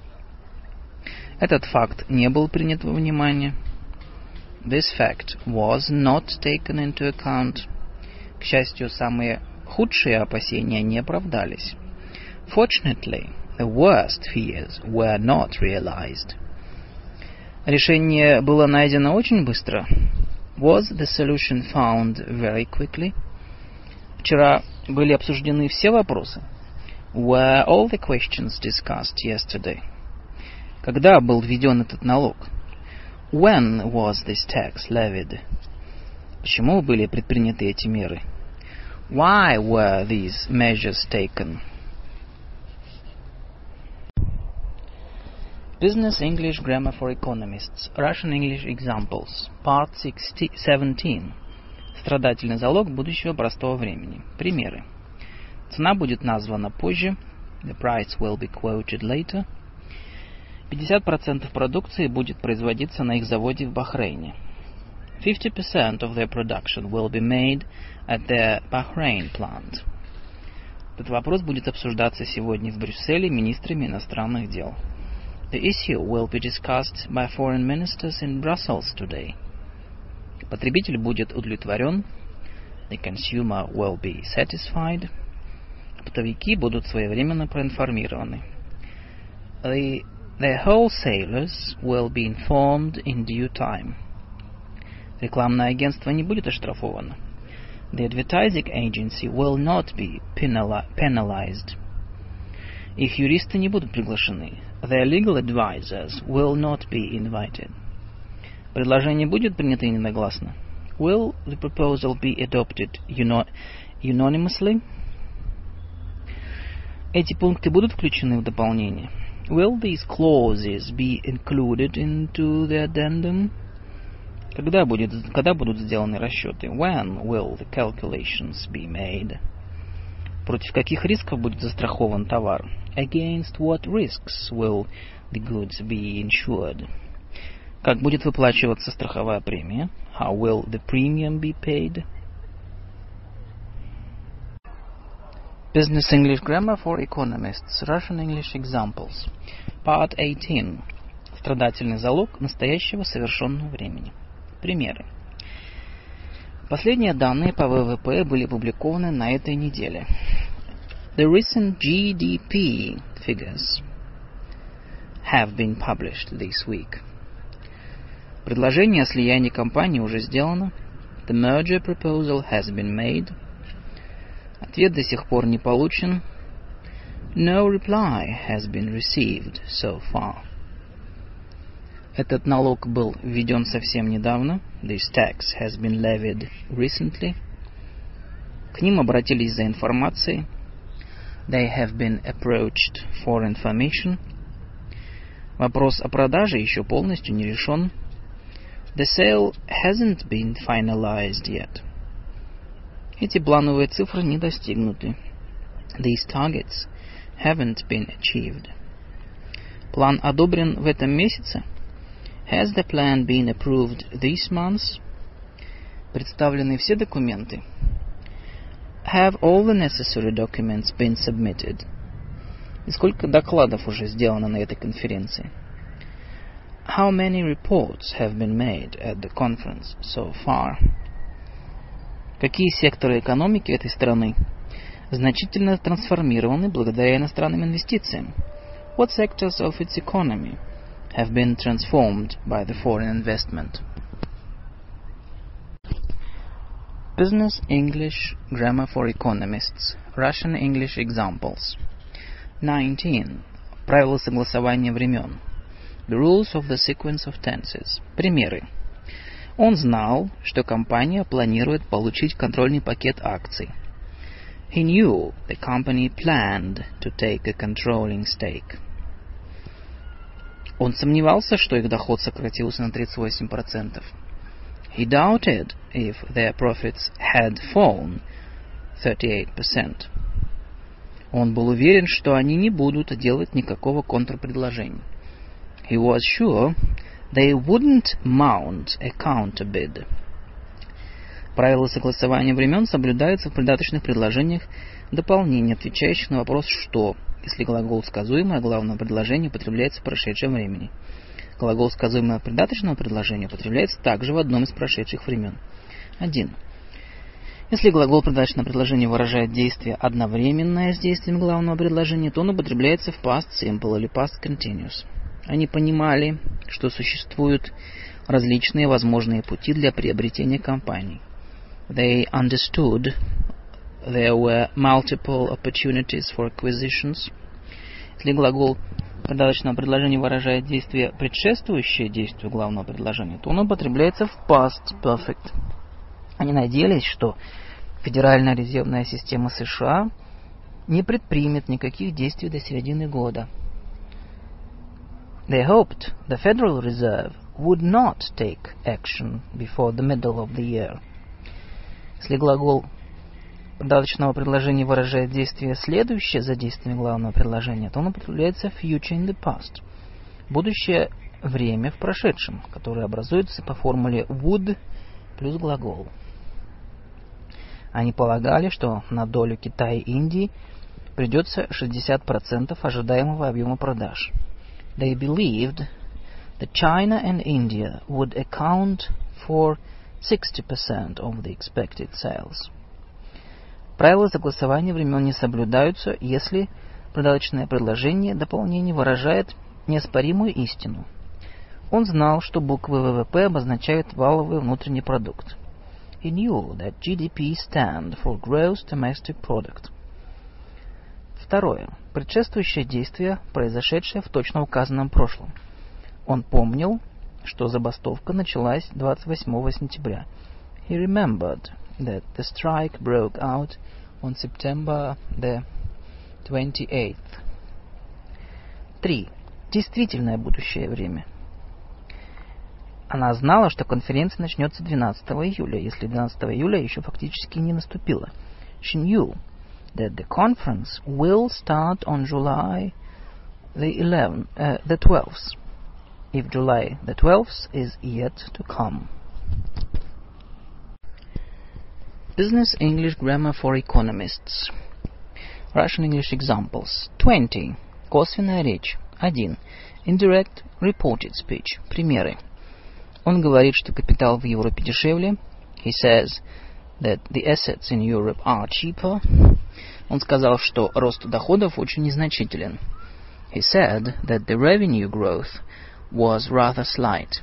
Этот факт не был принят во внимание. This fact was not taken into account. К счастью, самые худшие опасения не оправдались. Fortunately, the worst fears were not realized. Решение было найдено очень быстро. Was the solution found very quickly? Вчера были обсуждены все вопросы. Were all the questions discussed yesterday? Когда был введен этот налог? When was this tax levied? Почему были предприняты эти меры? Why were these measures taken? Business English Grammar for Economists. Russian English Examples. Part seventeen. Страдательный залог будущего простого времени. Примеры. Цена будет названа позже. The price will be quoted later. пятьдесят процентов продукции будет производиться на их заводе в Бахрейне. fifty percent of their production will be made at their Bahrain plant. Этот вопрос будет обсуждаться сегодня в Брюсселе министрами иностранных дел. The issue will be discussed by foreign ministers in Brussels today. Потребитель будет удовлетворен. The consumer will be satisfied. Оптовики будут своевременно проинформированы. The, the wholesalers will be informed in due time. Рекламное агентство не будет оштрафовано. The advertising agency will not be penalized. Их юристы не будут приглашены. Their legal advisors will not be invited. Предложение будет принято единогласно. Will the proposal be adopted unanimously? Эти пункты будут включены в дополнение. Will these clauses be included into the addendum? Когда, будет, когда будут сделаны расчеты? When will the calculations be made? Против каких рисков будет застрахован товар? Against what risks will the goods be insured? Как будет выплачиваться страховая премия? How will the premium be paid? Business English Grammar for Economists. Russian English Examples. Part eighteen. Страдательный залог настоящего совершенного времени. Примеры. Последние данные по ВВП были опубликованы на этой неделе. The recent G D P figures have been published this week. Предложение о слиянии компаний уже сделано. The merger proposal has been made. Ответ до сих пор не получен. No reply has been received so far. Этот налог был введен совсем недавно. This tax has been levied recently. К ним обратились за информацией. They have been approached for information. Вопрос о продаже еще полностью не решен. The sale hasn't been finalized yet. Эти плановые цифры не достигнуты. These targets haven't been achieved. План одобрен в этом месяце. Has the plan been approved this month? Представлены все документы. Have all the necessary documents been submitted? И сколько докладов уже сделано на этой конференции? How many reports have been made at the conference so far? Какие секторы экономики этой страны значительно трансформированы благодаря иностранным инвестициям? What sectors of its economy have been transformed by the foreign investment? Business English Grammar for Economists. Russian English Examples. nineteen. Правила согласования времен. The rules of the sequence of tenses. Примеры. Он знал, что компания планирует получить контрольный пакет акций. He knew the company planned to take a controlling stake. Он сомневался, что их доход сократился на тридцать восемь процентов. He doubted if their profits had fallen thirty-eight percent. Он был уверен, что они не будут делать никакого контрпредложения. He was sure they wouldn't mount a counterbid. Правила согласования времен соблюдаются в придаточных предложениях дополнения, отвечающих на вопрос «что», если глагол сказуемое главного предложения употребляется в прошедшем времени. Глагол сказуемого придаточного предложения употребляется также в одном из прошедших времен. один. Если глагол придаточного предложения выражает действие одновременное с действием главного предложения, то он употребляется в past simple или past continuous. Они понимали, что существуют различные возможные пути для приобретения компаний. They understood there were multiple opportunities for acquisitions. Если глагол придаточного предложения выражает действие, предшествующее действию главного предложения, то он употребляется в past perfect. Они надеялись, что Федеральная резервная система США не предпримет никаких действий до середины года. They hoped the Federal Reserve would not take action before the middle of the year. Если глагол придаточного предложения выражает действие, следующее за действием главного предложения, то он употребляется future in the past. Будущее время в прошедшем, которое образуется по формуле would плюс глагол. Они полагали, что на долю Китая и Индии придется шестьдесят процентов ожидаемого объема продаж. They believed that China and India would account for sixty percent of the expected sales. Правила согласования времен не соблюдаются, если придаточное предложение дополнение выражает неоспоримую истину. Он знал, что буквы вэ вэ пэ обозначают валовый внутренний продукт. He knew that джи ди пи stand for Gross Domestic Product. Второе. Предшествующее действие, произошедшее в точно указанном прошлом. Он помнил, что забастовка началась двадцать восьмого сентября. He remembered that the strike broke out on September the twenty-eighth. Три. Действительное будущее время. Она знала, что конференция начнется двенадцатого июля, если двенадцатого июля еще фактически не наступило. She knew that the conference will start on July the eleventh, uh, the twelfth, if July the twelfth is yet to come. Business English Grammar for Economists. Russian English examples. twenty. Косвенная речь. один. Indirect reported speech. Примеры. Он говорит, что капитал в Европе дешевле. He says that the assets in Europe are cheaper. Он сказал, что рост доходов очень незначителен. He said that the revenue growth was rather slight.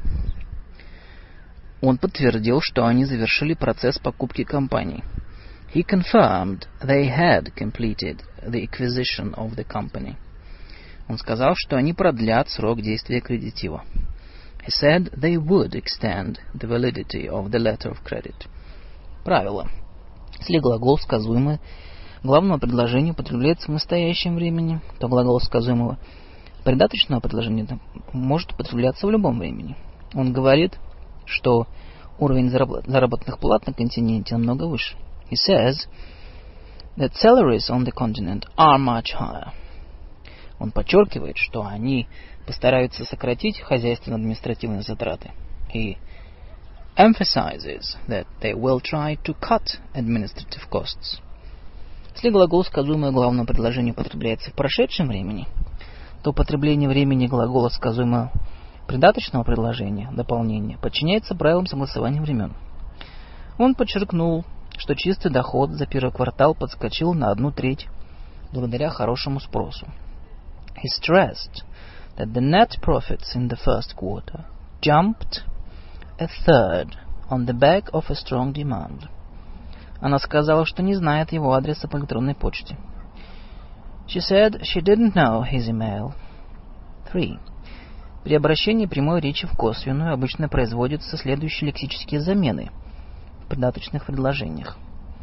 Он подтвердил, что они завершили процесс покупки компаний. He confirmed they had completed the acquisition of the company. Он сказал, что они продлят срок действия кредитива. He said they would extend the validity of the letter of credit. Правило. Если глагол сказуемый главного предложения употребляется в настоящем времени, то глагол сказуемого придаточного предложения может употребляться в любом времени. Он говорит, что уровень заработных плат на континенте намного выше. He says that salaries on the continent are much higher. Он подчеркивает, что они постараются сократить хозяйственно-административные затраты. He emphasizes that they will try to cut administrative costs. Если глагол сказуемое главного предложения употребляется в прошедшем времени, то употребление времени глагола сказуемого придаточного предложения, дополнения, подчиняется правилам согласования времен. Он подчеркнул, что чистый доход за первый квартал подскочил на одну треть благодаря хорошему спросу. He stressed that the net profits in the first quarter jumped a third on the back of a strong demand. Она сказала, что не знает его адреса по электронной почте. She said she didn't know his email. Three. При обращении прямой речи в косвенную обычно производятся следующие лексические замены в придаточных предложениях.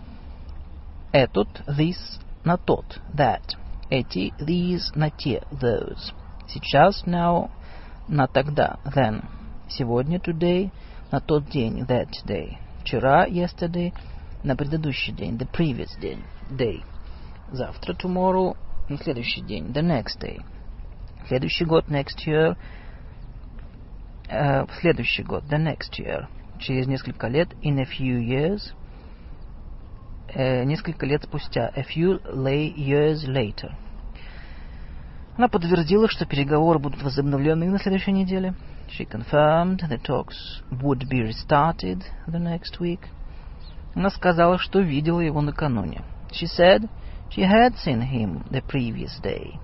Этот, this на тот, that. Эти, these на те, those. Сейчас, now на тогда, then. Сегодня, today, на тот день, that day. Вчера, yesterday, на предыдущий день, the previous day. day. Завтра, tomorrow, на следующий день, the next day. Следующий год, next year. Uh, в следующий год, the next year. Через несколько лет, in a few years. Uh, несколько лет спустя, a few lay years later. Она подтвердила, что переговоры будут возобновлены на следующей неделе. She confirmed the talks would be restarted the next week. Она сказала, что видела его накануне. She said she had seen him the previous day.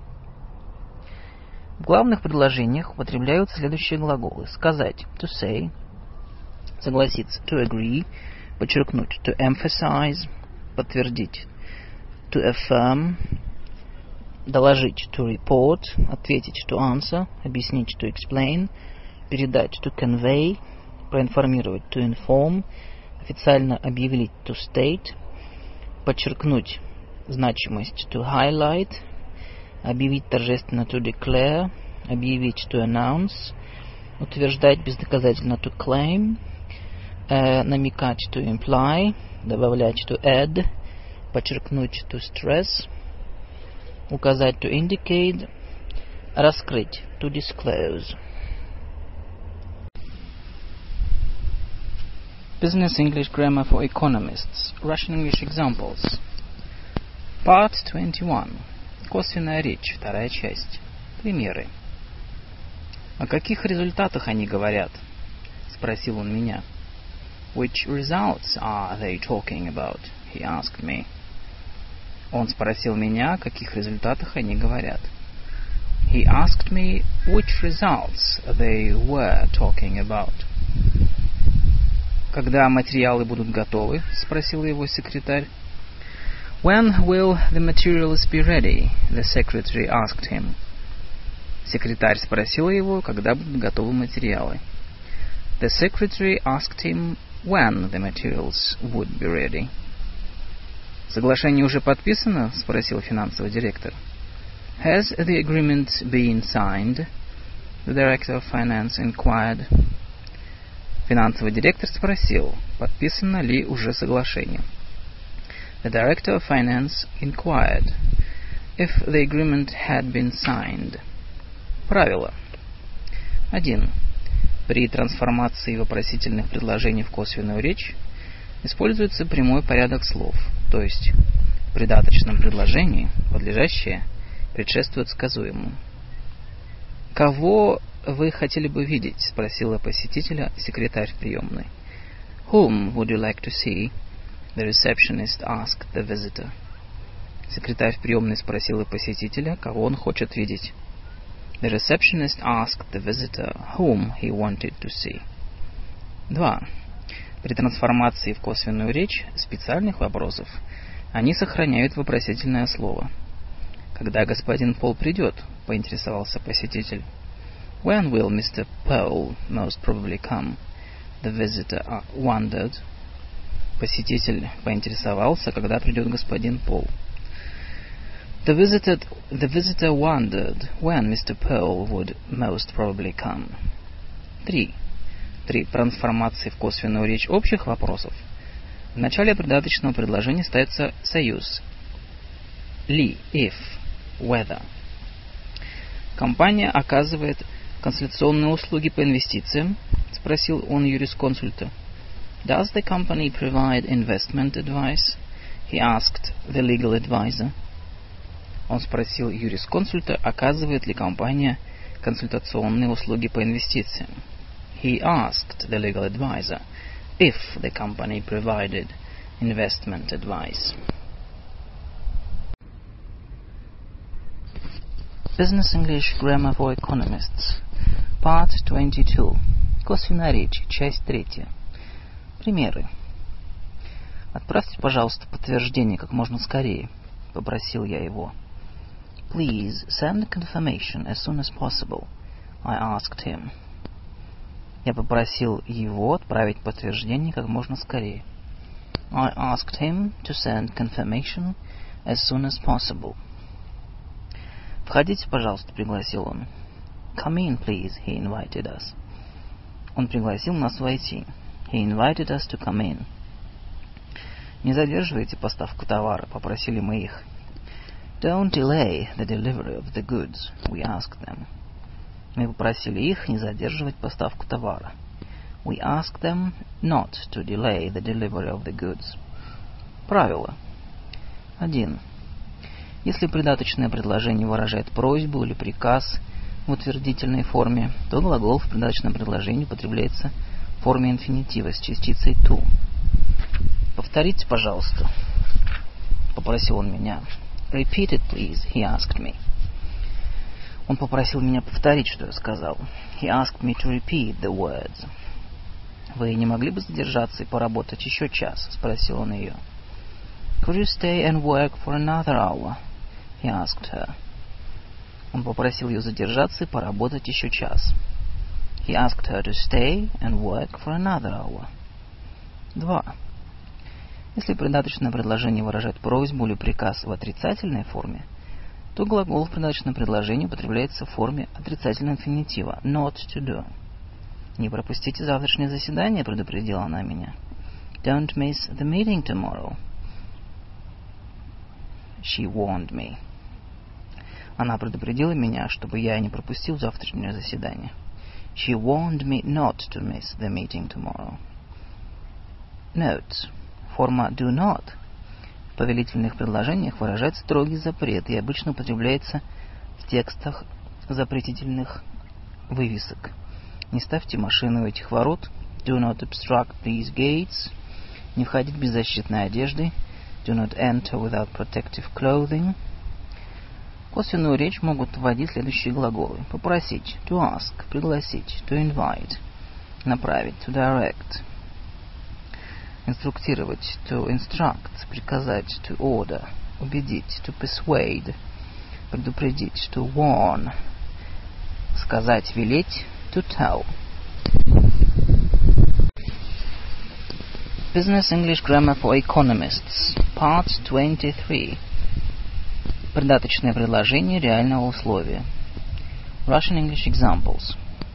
В главных предложениях употребляются следующие глаголы. Сказать, to say, согласиться, to agree, подчеркнуть, to emphasize, подтвердить, to affirm, доложить, to report, ответить, to answer, объяснить, to explain, передать, to convey, проинформировать, to inform, официально объявить, to state, подчеркнуть значимость to highlight, объявить торжественно to declare, объявить to announce, утверждать бездоказательно to claim, э, намекать to imply, добавлять to add, подчеркнуть to stress, указать to indicate, раскрыть to disclose. Business English Grammar for Economists. Russian English Examples. Part twenty-one. Косвенная речь. Вторая часть. Примеры. О каких результатах они говорят? Спросил он меня. Which results are they talking about? He asked me. Он спросил меня, о каких результатах они говорят. He asked me which results they were talking about. Когда материалы будут готовы? Спросил его секретарь. When will the materials be ready? The secretary asked him. Секретарь спросил его, когда будут готовы материалы. The secretary asked him when the materials would be ready. Соглашение уже подписано? Спросил финансовый директор. Has the agreement been signed? The director of finance inquired. Финансовый директор спросил, подписано ли уже соглашение. The director of finance inquired if the agreement had been signed. Правило. один. При трансформации вопросительных предложений в косвенную речь используется прямой порядок слов, то есть в придаточном предложении подлежащее предшествует сказуемому. Кого вы хотели бы видеть? Спросила посетителя секретарь приемной. Whom would you like to see? The receptionist asked the visitor. Секретарь приемной спросила посетителя, кого он хочет видеть. The receptionist asked the visitor whom he wanted to see. два. При трансформации в косвенную речь специальных вопросов они сохраняют вопросительное слово. Когда господин Пол придет? Поинтересовался посетитель. When will Mister Paul most probably come? The visitor wondered. Посетитель поинтересовался, когда придет господин Пол. The visitor, the visitor wondered when Mister Paul would most probably come. три. При трансформации в косвенную речь общих вопросов в начале придаточного предложения ставится союз ли, if, whether. Компания оказывает консультационные услуги по инвестициям? Спросил он юрисконсульта. Does the company provide investment advice? He asked the legal advisor. Он спросил юрисконсульта, оказывает ли компания консультационные услуги по инвестициям. He asked the legal advisor if the company provided investment advice. Business English Grammar for Economists. Part twenty-two. Косвенная речь. Часть третья. Примеры. Отправьте, пожалуйста, подтверждение как можно скорее, попросил я его. Please send confirmation as soon as possible, I asked him. Я попросил его отправить подтверждение как можно скорее. I asked him to send confirmation as soon as possible. Входите, пожалуйста, пригласил он. Come in, please, he invited us. Он пригласил нас войти. He invited us to come in. Не задерживайте поставку товара, попросили мы их. Don't delay the delivery of the goods, we asked them. Мы попросили их не задерживать поставку товара. We asked them not to delay the delivery of the goods. Правило. один. Если придаточное предложение выражает просьбу или приказ в утвердительной форме, то глагол в придаточном предложении употребляется в форме инфинитива с частицей to. Повторите, пожалуйста, попросил он меня. Repeat it, please, he asked me. Он попросил меня повторить, что я сказал. He asked me to repeat the words. Вы не могли бы задержаться и поработать еще час? Спросил он ее. Could you stay and work for another hour? He asked her. Он попросил ее задержаться и поработать еще час. He asked her to stay and work for another hour. два. Если придаточное предложение выражает просьбу или приказ в отрицательной форме, то глагол в придаточном предложении употребляется в форме отрицательного инфинитива not to do. «Не пропустите завтрашнее заседание», — предупредила она меня. «Don't miss the meeting tomorrow». She warned me. Она предупредила меня, чтобы я не пропустил завтрашнее заседание. She warned me not to miss the meeting tomorrow. Note. Форма do not в повелительных предложениях выражает строгий запрет и обычно употребляется в текстах запретительных вывесок. Не ставьте машины у этих ворот. Do not obstruct these gates. Не входить без защитной одежды. Do not enter without protective clothing. Косвенную речь могут вводить следующие глаголы. Попросить, to ask, пригласить, to invite, направить, to direct, инструктировать, to instruct, приказать, to order, убедить, to persuade, предупредить, to warn, сказать, велеть, to tell. Business English Grammar for Economists, Part twenty-three. Придаточное предложение реального условия. Russian English Examples.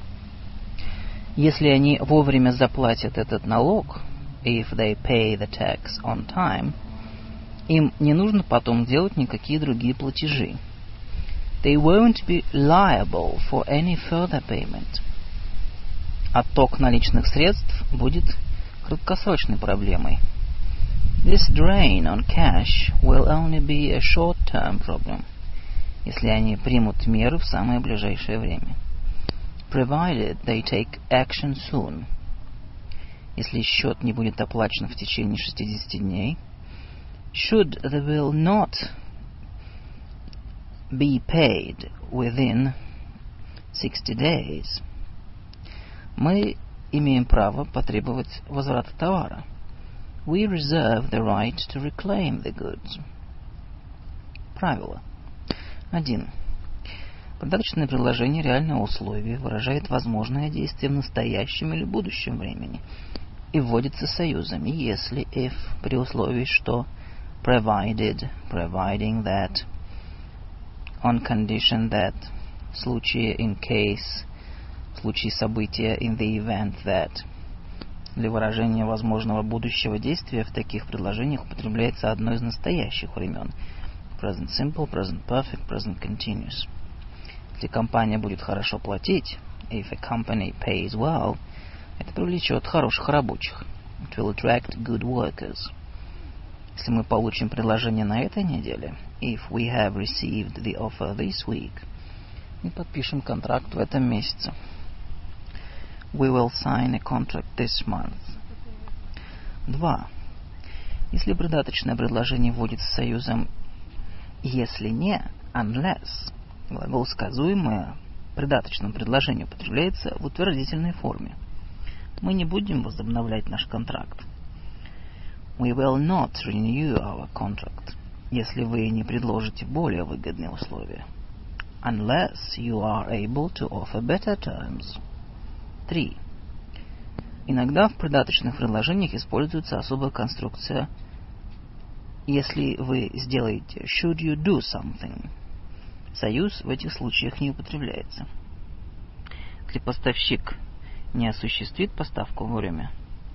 Если они вовремя заплатят этот налог, if they pay the tax on time, им не нужно потом делать никакие другие платежи. They won't be liable for any further payment. Отток наличных средств будет краткосрочной проблемой. This drain on cash will only be a short-term problem, если они примут меры в самое ближайшее время. Provided they take action soon. Если счет не будет оплачен в течение шестидесяти дней. Should the bill not be paid within sixty days. Мы имеем право потребовать возврата товара. We reserve the right to reclaim the goods. Правило. один. Придаточное предложение реального условия выражает возможное действие в настоящем или будущем времени и вводится союзами, если if при условии, что provided, providing that, on condition that, в случае in case, в случае события in the event that. Для выражения возможного будущего действия в таких предложениях употребляется одно из настоящих времен. Present simple, present perfect, present continuous. Если компания будет хорошо платить, if a company pays well, это привлечет хороших рабочих. It will attract good workers. Если мы получим предложение на этой неделе, if we have received the offer this week, мы подпишем контракт в этом месяце. We will sign a contract this month. два. Если придаточное предложение вводится союзом «если не», unless, глагол сказуемое в придаточном предложении употребляется в утвердительной форме. Мы не будем возобновлять наш контракт. We will not renew our contract, если вы не предложите более выгодные условия. Unless you are able to offer better terms. три. Иногда в придаточных предложениях используется особая конструкция «если вы сделаете should you do something». Союз в этих случаях не употребляется. Если поставщик не осуществит поставку вовремя.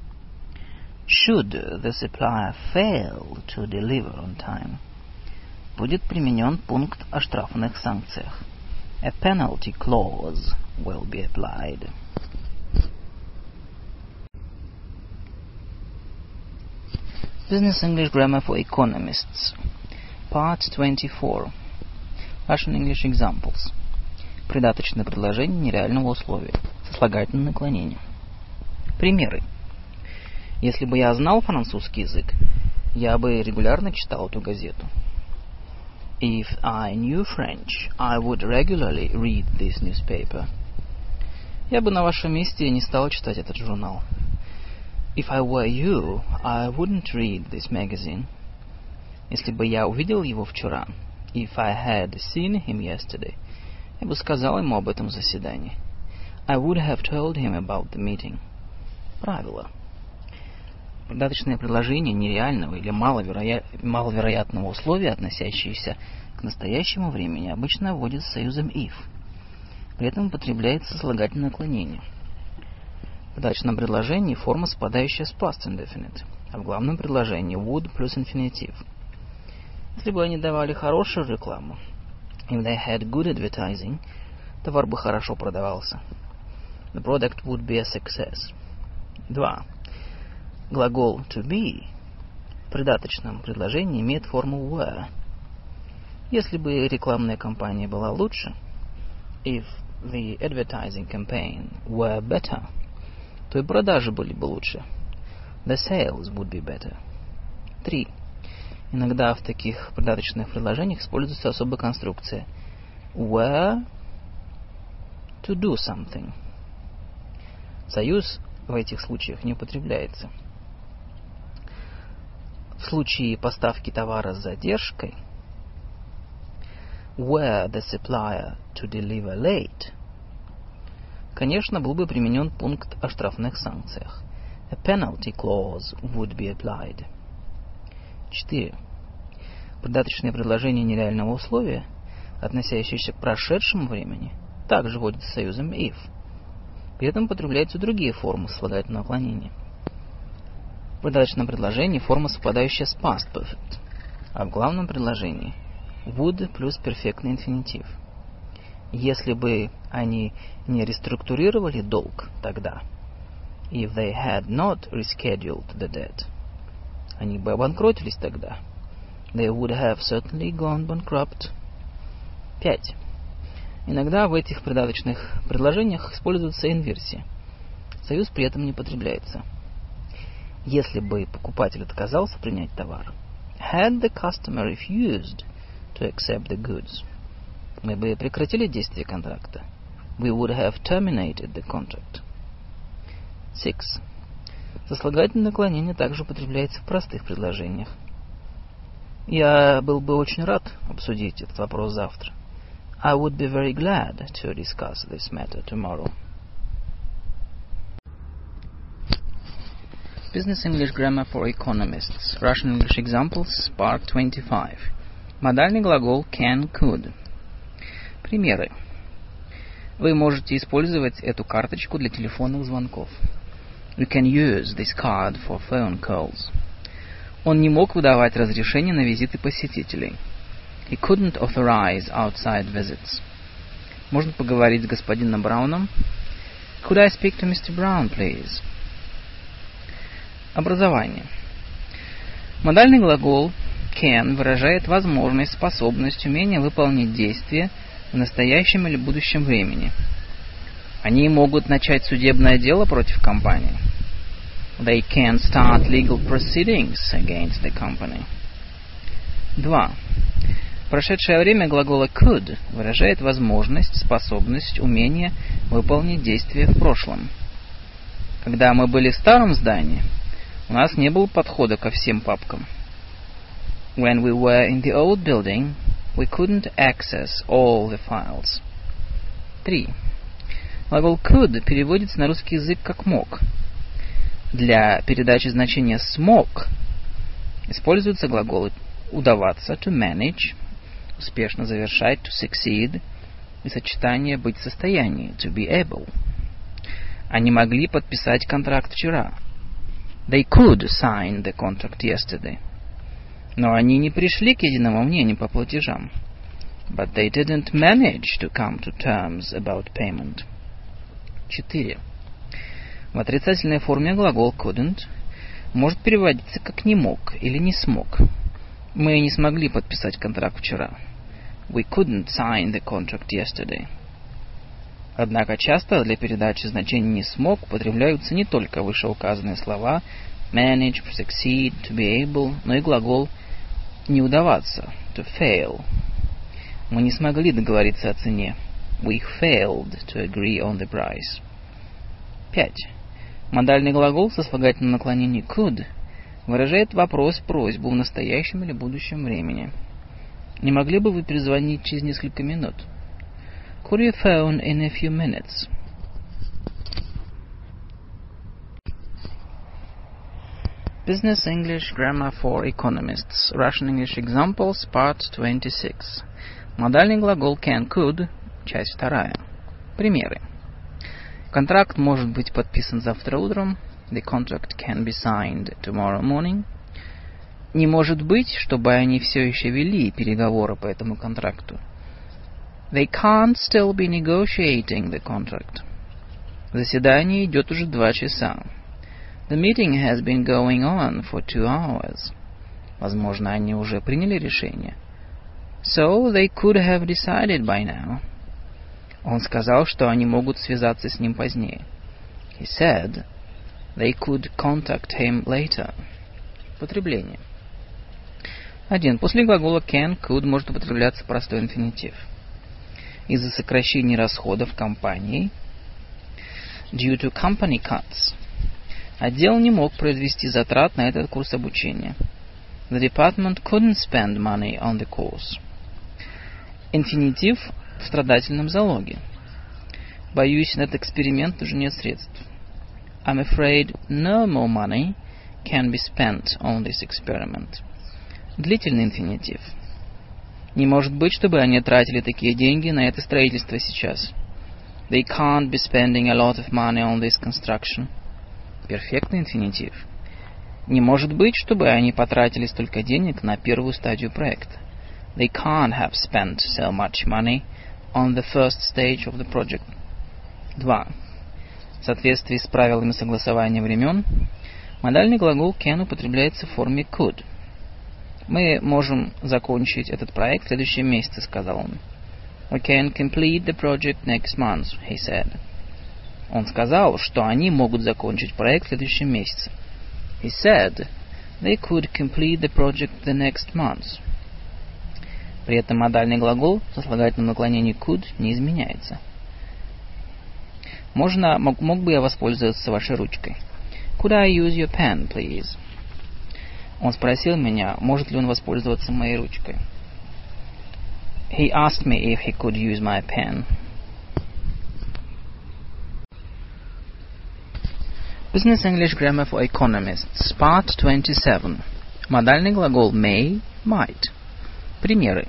Should the supplier fail to deliver on time, будет применен пункт о штрафных санкциях. A penalty clause will be applied. Business English Grammar for Economists, Part twenty-four. Russian English Examples. Придаточное предложение нереального условия. Сослагательное наклонение. Примеры. Если бы я знал французский язык, я бы регулярно читал эту газету. If I knew French, I would regularly read this newspaper. Я бы на вашем месте не стал читать этот журнал. If I were you, I wouldn't read this magazine. Если бы я увидел его вчера, if I had seen him yesterday, я бы сказал ему об этом заседании. I would have told him about the meeting. Правило. Придаточное предложение нереального или маловероя... маловероятного условия, относящиеся к настоящему времени, обычно вводится союзом if. При этом употребляется сослагательное наклонение. В придаточном предложении форма, совпадающая с past indefinite, а в главном предложении would плюс инфинитив. Если бы они давали хорошую рекламу, if they had good advertising, товар бы хорошо продавался. The product would be a success. два. Глагол to be в придаточном предложении имеет форму were. Если бы рекламная кампания была лучше, if the advertising campaign were better, то и продажи были бы лучше. The sales would be better. три. Иногда в таких придаточных предложениях используется особая конструкция were to do something. Союз в этих случаях не употребляется. В случае поставки товара с задержкой were the supplier to deliver late, конечно, был бы применен пункт о штрафных санкциях. A penalty clause would be applied. четыре. Придаточное предложение нереального условия, относящееся к прошедшему времени, также вводится союзом if. При этом употребляются другие формы сослагательного наклонения. В придаточном предложении форма, совпадающая с past perfect, а в главном предложении would плюс перфектный инфинитив. Если бы они не реструктурировали долг тогда, if they had not rescheduled the debt, они бы обанкротились тогда, they would have certainly gone bankrupt. пять. Иногда в этих придаточных предложениях используется инверсия. Союз при этом не употребляется. Если бы покупатель отказался принять товар, had the customer refused to accept the goods, мы бы прекратили действие контракта. We would have terminated the contract. шесть. Сослагательное наклонение также употребляется в простых предложениях. Я был бы очень рад обсудить этот вопрос завтра. I would be very glad to discuss this matter tomorrow. Business English Grammar for Economists. Russian English Examples, Part twenty-five. Модальный глагол can, could. Примеры. Вы можете использовать эту карточку для телефонных звонков. You can use this card for phone calls. Он не мог выдавать разрешение на визиты посетителей. He couldn't authorize outside visits. Можно поговорить с господином Брауном? Could I speak to Mister Brown, please? Образование. Модальный глагол can выражает возможность, способность, умение выполнить действие в настоящем или будущем времени. Они могут начать судебное дело против компании. They can start legal proceedings against the company. два. Прошедшее время глагола could выражает возможность, способность, умение выполнить действие в прошлом. Когда мы были в старом здании, у нас не было подхода ко всем папкам. When we were in the old building, we couldn't access all the files. три. Глагол could переводится на русский язык как мог. Для передачи значения смог используются глаголы удаваться, to manage, успешно завершать, to succeed, и сочетание быть в состоянии, to be able. Они могли подписать контракт вчера. They could sign the contract yesterday. Но они не пришли к единому мнению по платежам. But they didn't manage to come to terms about payment. четыре. В отрицательной форме глагол couldn't может переводиться как не мог или не смог. Мы не смогли подписать контракт вчера. We couldn't sign the contract yesterday. Однако часто для передачи значения «не смог» употребляются не только вышеуказанные слова manage, succeed, to be able, но и глагол «не удаваться», to fail. Мы не смогли договориться о цене. We failed to agree on the price. пять. Модальный глагол со слагательным наклонением could выражает вопрос, просьбу в настоящем или будущем времени. Не могли бы вы перезвонить через несколько минут? Could you phone in a few minutes? Business English Grammar for Economists. Russian English Examples, Part twenty-six. Модальный глагол can, could, часть вторая. Примеры. Контракт может быть подписан завтра утром. The contract can be signed tomorrow morning. Не может быть, чтобы они все еще вели переговоры по этому контракту. They can't still be negotiating the contract. Заседание идет уже два часа. The meeting has been going on for two hours. Возможно, они уже приняли решение. So they could have decided by now. Он сказал, что они могут связаться с ним позднее. He said they could contact him later. Употребление. Один. После глагола can, could может употребляться простой инфинитив. Из-за сокращения расходов компании, due to company cuts, отдел не мог произвести затрат на этот курс обучения. The department couldn't spend money on the course. Инфинитив в страдательном залоге. Боюсь, на этот эксперимент уже нет средств. I'm afraid no more money can be spent on this experiment. Длительный инфинитив. Не может быть, чтобы они тратили такие деньги на это строительство сейчас. They can't be spending a lot of money on this construction. Перфектный инфинитив. Не может быть, чтобы они потратили столько денег на первую стадию проекта. They can't have spent so much money on the first stage of the project. Два. В соответствии с правилами согласования времен, модальный глагол can употребляется в форме could. Мы можем закончить этот проект в следующем месяце, сказал он. We can complete the project next month, he said. Он сказал, что они могут закончить проект в следующем месяце. He said they could complete the project the next month. При этом модальный глагол в сослагательном наклонении could не изменяется. Можно, мог, мог бы я воспользоваться вашей ручкой? Could I use your pen, please? Он спросил меня, может ли он воспользоваться моей ручкой. He asked me if he could use my pen. Business English Grammar for Economists, Part twenty-seven. Модальный глагол may, might. Примеры.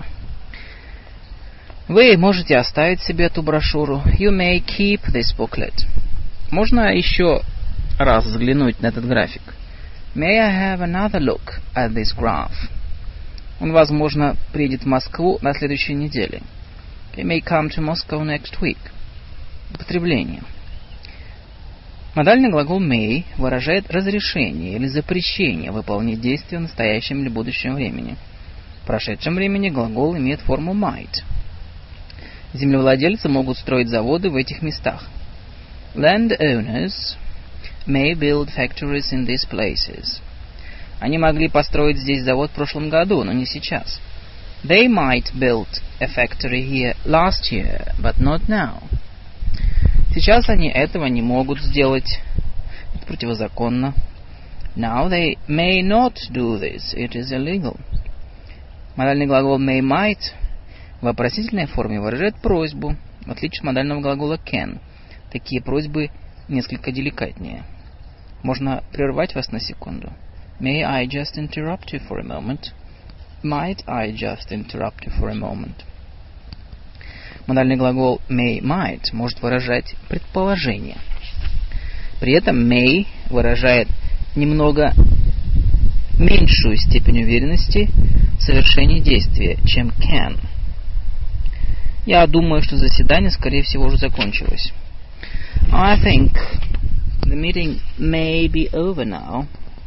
Вы можете оставить себе эту брошюру. You may keep this booklet. Можно еще раз взглянуть на этот график. May I have another look at this graph? Он, возможно, приедет в Москву на следующей неделе. He may come to Moscow next week. Употребление. Модальный глагол may выражает разрешение или запрещение выполнить действие в настоящем или будущем времени. В прошедшем времени глагол имеет форму might. Землевладельцы могут строить заводы в этих местах. Landowners may build factories in these places. Они могли построить здесь завод в прошлом году, но не сейчас. They might build a factory here last year, but not now. Сейчас они этого не могут сделать. Это противозаконно. Now they may not do this. It is illegal. Модальный глагол may, might в вопросительной форме выражает просьбу, в отличие от модального глагола can. Такие просьбы несколько деликатнее. Можно прервать вас на секунду? May I just interrupt you for a moment? Might I just interrupt you for a moment? Модальный глагол may, might может выражать предположение. При этом may выражает немного меньшую степень уверенности в совершении действия, чем can. Я думаю, что заседание, скорее всего, уже закончилось. I think the meeting may be over now.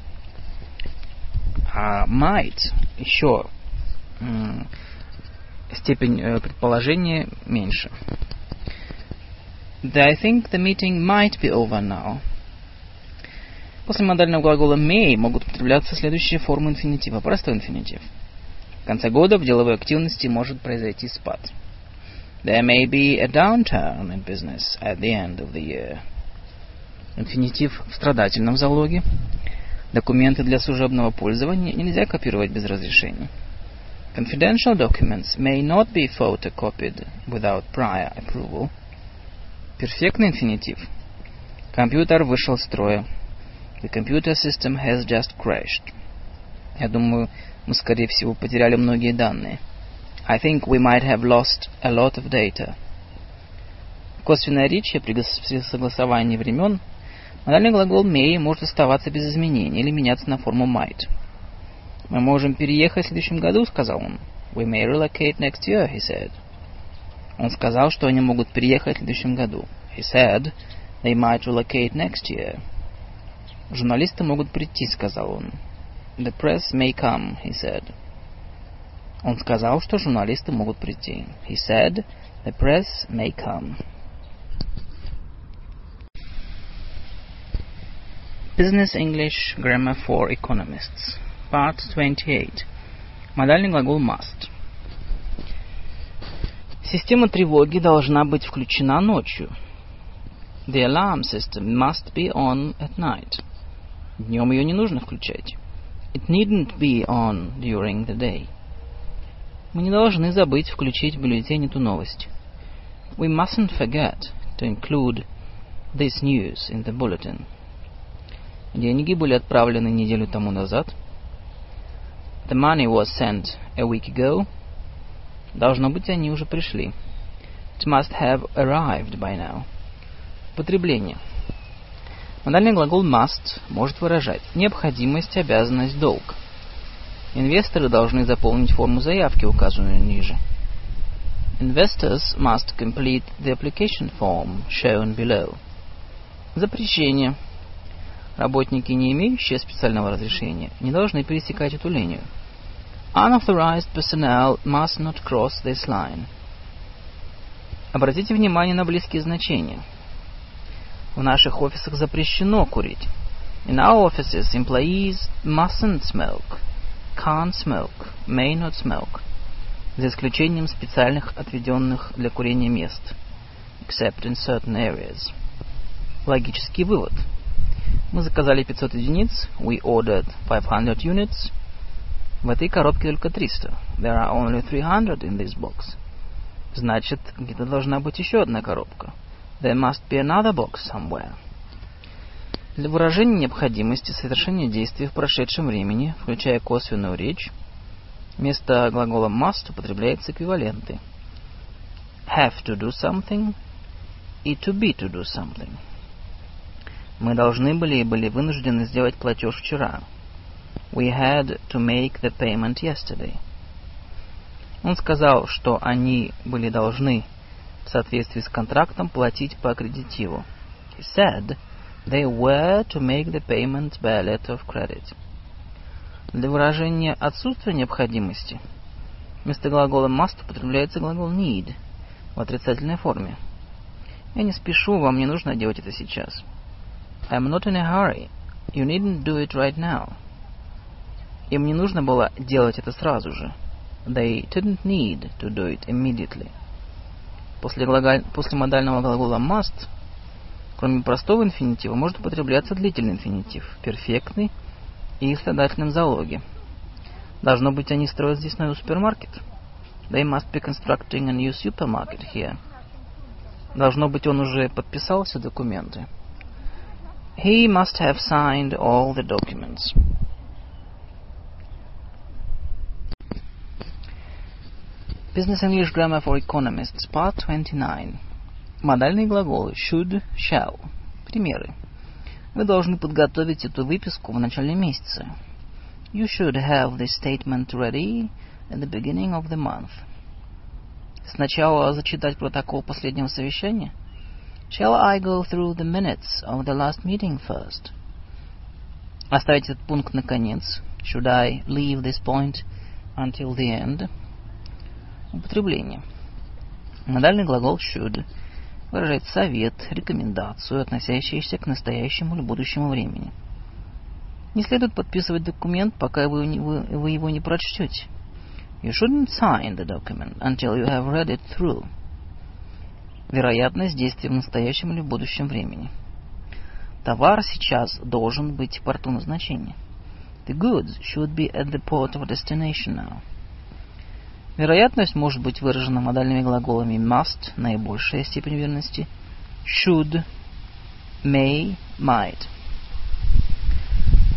А might еще м, степень э, предположения меньше. I think the meeting might be over now. После модального глагола may могут употребляться следующие формы инфинитива. Простой инфинитив. В конце года в деловой активности может произойти спад. There may be a downturn in business at the end of the year. Инфинитив в страдательном залоге. Документы для служебного пользования нельзя копировать без разрешения. Confidential documents may not be photocopied without prior approval. Перфектный инфинитив. Компьютер вышел из строя. The computer system has just crashed. Я думаю, мы, скорее всего, потеряли многие данные. I think we might have lost a lot of data. Косвенное наречие при согласовании времен. Модальный глагол may может оставаться без изменений или меняться на форму might. Мы можем переехать в следующем году, сказал он. We may relocate next year, he said. Он сказал, что они могут переехать в следующем году. He said they might relocate next year. Журналисты могут прийти, сказал он. The press may come, he said. Он сказал, что журналисты могут прийти. He said the press may come. Business English Grammar for Economists. Part twenty-eight. Модальный глагол must. Система тревоги должна быть включена ночью. The alarm system must be on at night. Днем ее не нужно включать. It needn't be on during the day. Мы не должны забыть включить в бюллетень эту новость. We mustn't forget to include this news in the bulletin. Деньги были отправлены неделю тому назад. The money was sent a week ago. Должно быть, они уже пришли. It must have arrived by now. Потребление. Модальный глагол must может выражать необходимость, обязанность, долг. Инвесторы должны заполнить форму заявки, указанную ниже. Investors must complete the application form shown below. Запрещение. Работники, не имеющие специального разрешения, не должны пересекать эту линию. Unauthorized personnel must not cross this line. Обратите внимание на близкие значения. В наших офисах запрещено курить. In our offices, employees mustn't smoke, can't smoke, may not smoke, за исключением специальных отведенных для курения мест, except in certain areas. Логический вывод. Мы заказали пятьсот единиц. We ordered five hundred units. В этой коробке только триста. There are only three hundred in this box. Значит, где-то должна быть еще одна коробка. There must be another box somewhere. Для выражения необходимости совершения действия в прошедшем времени, включая косвенную речь, вместо глагола must употребляются эквиваленты. Have to do something и to be to do something. Мы должны были и были вынуждены сделать платеж вчера. We had to make the payment yesterday. Он сказал, что они были должны в соответствии с контрактом платить по аккредитиву. He said they were to make the payment by a letter of credit. Для выражения отсутствия необходимости вместо глагола must употребляется глагол need в отрицательной форме. Я не спешу, вам не нужно делать это сейчас. I'm not in a hurry. You needn't do it right now. Им не нужно было делать это сразу же. They didn't need to do it immediately. После, глаголь... После модального глагола must, кроме простого инфинитива, может употребляться длительный инфинитив, перфектный и в страдательном залоге. Должно быть, они строят здесь новый супермаркет. They must be constructing a new supermarket here. Должно быть, он уже подписал все документы. He must have signed all the documents. Business English Grammar for Economists, Part twenty-nine. Модальные глаголы should, shall. Примеры. Вы должны подготовить эту выписку в начале месяца. You should have this statement ready at the beginning of the month. Сначала зачитать протокол последнего совещания? Shall I go through the minutes of the last meeting first? Оставить этот пункт на конец. Should I leave this point until the end? Употребление. Модальный глагол should выражает совет, рекомендацию, относящуюся к настоящему или будущему времени. Не следует подписывать документ, пока вы, вы, вы его не прочтете. You shouldn't sign the document until you have read it through. Вероятность действия в настоящем или в будущем времени. Товар сейчас должен быть в порту назначения. The goods should be at the port of destination now. Вероятность может быть выражена модальными глаголами must, наибольшая степень верности, should, may, might.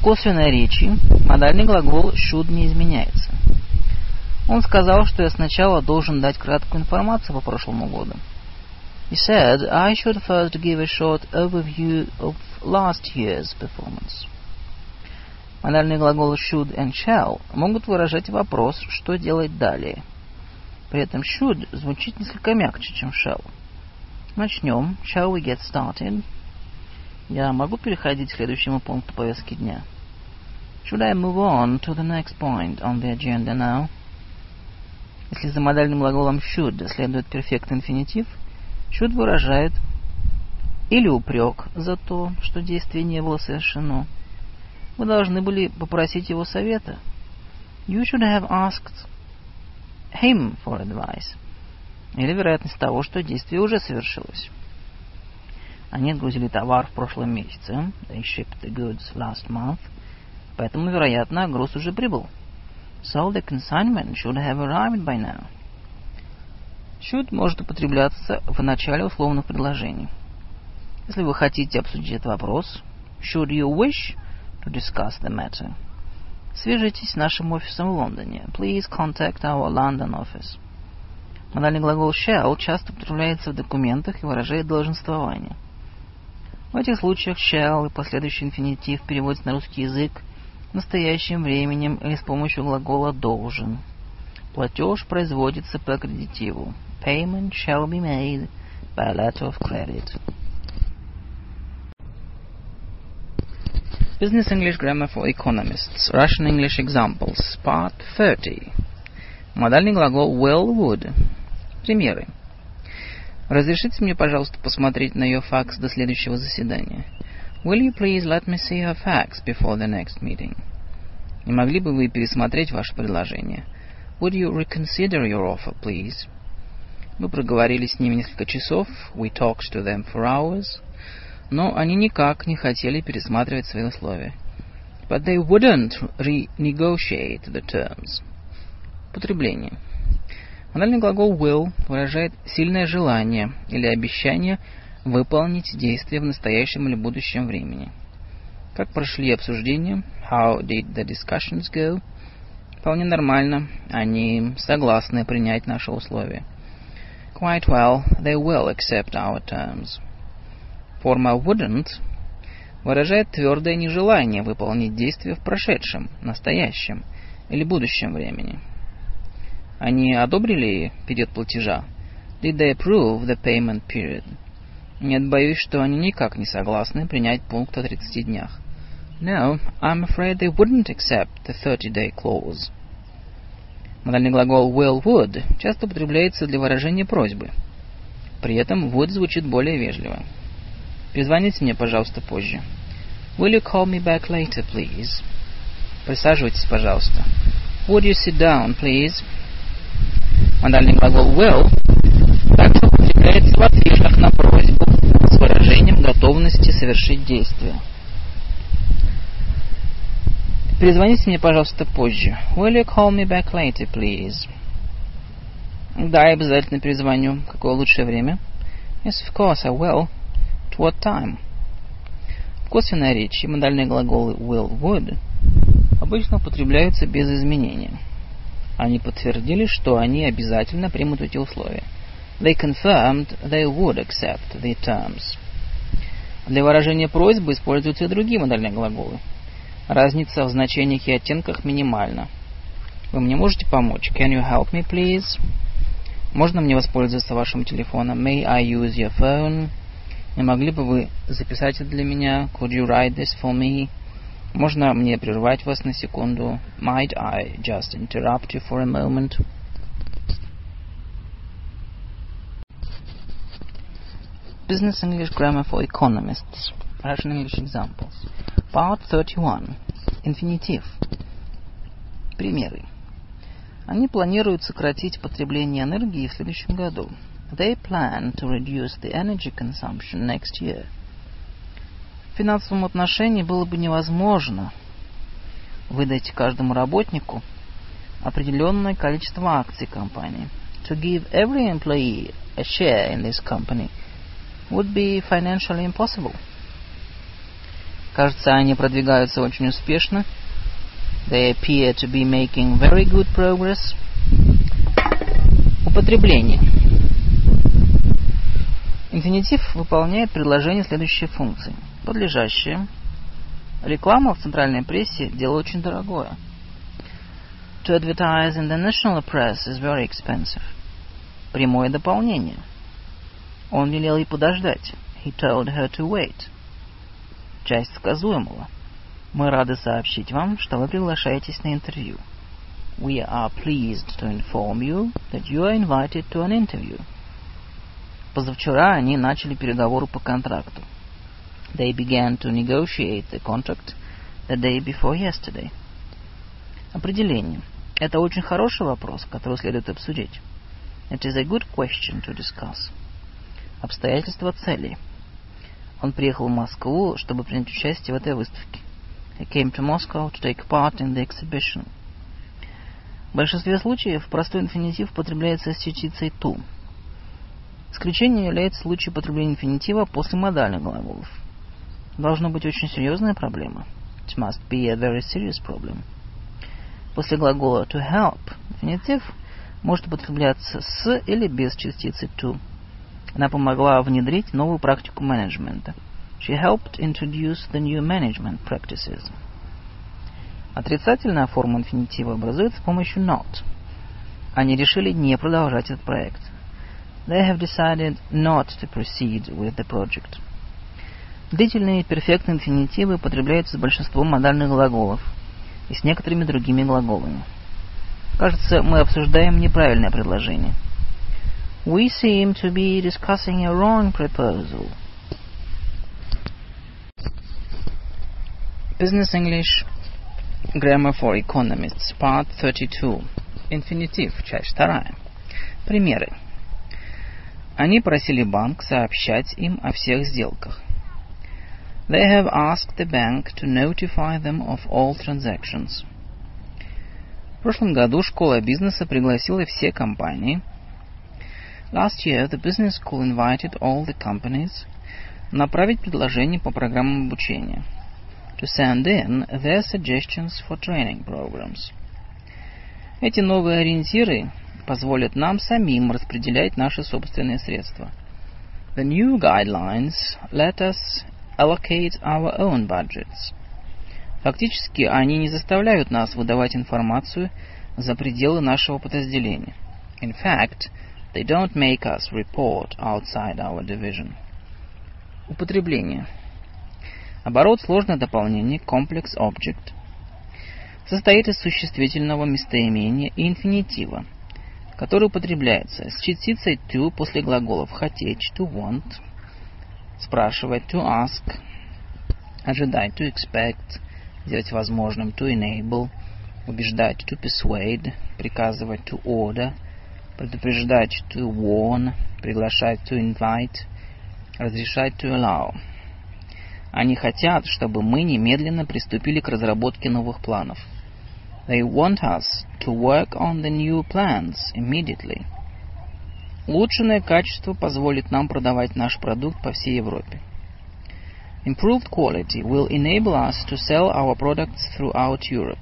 косвенной речи модальный глагол should не изменяется. Он сказал, что я сначала должен дать краткую информацию по прошлому году. He said, I should first give a short overview of last year's performance. Модальные глаголы should and shall могут выражать вопрос, что делать далее. При этом should звучит несколько мягче, чем shall. Начнем. Shall we get started? Я могу переходить к следующему пункту повестки дня? Should I move on to the next point on the agenda now? Если за модальным глаголом should следует перфектный инфинитив, should выражает или упрек за то, что действие не было совершено. Вы должны были попросить его совета. You should have asked him for advice. Или вероятность того, что действие уже совершилось. Они отгрузили товар в прошлом месяце. They shipped the goods last month. Поэтому, вероятно, груз уже прибыл. So the consignment should have arrived by now. Should может употребляться в начале условных предложений. Если вы хотите обсудить этот вопрос, should you wish to discuss the matter, свяжитесь с нашим офисом в Лондоне. Please contact our London office. Модальный глагол shall часто употребляется в документах и выражает долженствование. В этих случаях shall и последующий инфинитив переводится на русский язык настоящим временем или с помощью глагола должен. Платеж производится по аккредитиву. Payment shall be made by a letter of credit. Business English Grammar for Economists. Russian English Examples. Part thirty. Модальный глагол will, would. Примеры. Разрешите мне, пожалуйста, посмотреть на ее факс до следующего заседания. Will you please let me see her fax before the next meeting? Не могли бы вы пересмотреть ваше предложение? Would you reconsider your offer, please? Мы проговорили с ними несколько часов. We talked to them for hours. Но они никак не хотели пересматривать свои условия. But they wouldn't renegotiate the terms. Употребление. Модальный глагол will выражает сильное желание или обещание выполнить действие в настоящем или будущем времени. Как прошли обсуждения? How did the discussions go? Вполне нормально. Они согласны принять наши условия. Quite well. They will accept our terms. Форма wouldn't выражает твердое нежелание выполнить действие в прошедшем, настоящем или будущем времени. Они одобрили период платежа? Did they approve the payment period? Нет, боюсь, что они никак не согласны принять пункт о тридцати днях. No, I'm afraid they wouldn't accept the thirty-day clause. Модальный глагол will, would часто употребляется для выражения просьбы. При этом would звучит более вежливо. Перезвоните мне, пожалуйста, позже. Will you call me back later, please? Присаживайтесь, пожалуйста. Would you sit down, please? Модальный глагол will также употребляется в ответах на просьбу с выражением готовности совершить действие. Перезвоните мне, пожалуйста, позже. Will you call me back later, please? Да, я обязательно перезвоню. Какое лучшее время? Yes, of course I will. At what time? В косвенной речи модальные глаголы will, would обычно употребляются без изменения. Они подтвердили, что они обязательно примут эти условия. They confirmed they would accept the terms. Для выражения просьбы используются и другие модальные глаголы. Разница в значениях и оттенках минимальна. Вы мне можете помочь? Can you help me, please? Можно мне воспользоваться вашим телефоном? May I use your phone? Не могли бы вы записать это для меня? Could you write this for me? Можно мне прервать вас на секунду? Might I just interrupt you for a moment? Business English Grammar for Economists. Russian English Examples. Part thirty-one. Инфинитив. Примеры. Они планируют сократить потребление энергии в следующем году. They plan to reduce the energy consumption next year. В финансовом отношении было бы невозможно выдать каждому работнику определенное количество акций компании. To give every employee a share in this company would be financially impossible. Кажется, они продвигаются очень успешно. They appear to be making very good progress. Употребление. Инфинитив выполняет предложение следующей функции. Подлежащее. Реклама в центральной прессе – дело очень дорогое. To advertise in the national press is very expensive. Прямое дополнение. Он велел ей подождать. He told her to wait. Часть сказуемого. Мы рады сообщить вам, что вы приглашаетесь на интервью. We are pleased to inform you that you are invited to an interview. Позавчера они начали переговоры по контракту. They began to negotiate the contract the day before yesterday. Определение. Это очень хороший вопрос, который следует обсудить. It is a good question to discuss. Обстоятельства цели. Он приехал в Москву, чтобы принять участие в этой выставке. He came to Moscow to take part in the exhibition. В большинстве случаев простой инфинитив употребляется с частицей to. Исключением является случай употребления инфинитива после модальных глаголов. Должна быть очень серьезная проблема. It must be a very serious problem. После глагола to help инфинитив может употребляться с или без частицы to. Она помогла внедрить новую практику менеджмента. She helped introduce the new management practices. Отрицательная форма инфинитива образуется с помощью not. Они решили не продолжать этот проект. They have decided not to proceed with the project. Длительные перфектные инфинитивы употребляются с большинством модальных глаголов и с некоторыми другими глаголами. Кажется, мы обсуждаем неправильное предложение. We seem to be discussing a wrong proposal. Business English Grammar for Economists, Part thirty-two. Инфинитив, часть вторая. Примеры. Они просили банк сообщать им о всех сделках. They have asked the bank to notify them of all transactions. В прошлом году школа бизнеса пригласила все компании. Last year, the business school invited all the companies направить предложения по программам обучения. To send in their suggestions for training programs. Эти новые ориентиры позволят нам самим распределять наши собственные средства. The new guidelines let us allocate our own budgets. Фактически, они не заставляют нас выдавать информацию за пределы нашего подразделения. In fact, they don't make us report outside our division. Употребление. Оборот сложное дополнение complex object состоит из существительного местоимения и инфинитива, который употребляется с частицей to после глаголов хотеть to want, спрашивать to ask, ожидать to expect, делать возможным to enable, убеждать to persuade, приказывать to order, предупреждать to warn, приглашать to invite, разрешать to allow. Они хотят, чтобы мы немедленно приступили к разработке новых планов. They want us to work on the new plans immediately. Улучшенное качество позволит нам продавать наш продукт по всей Европе. Improved quality will enable us to sell our products throughout Europe.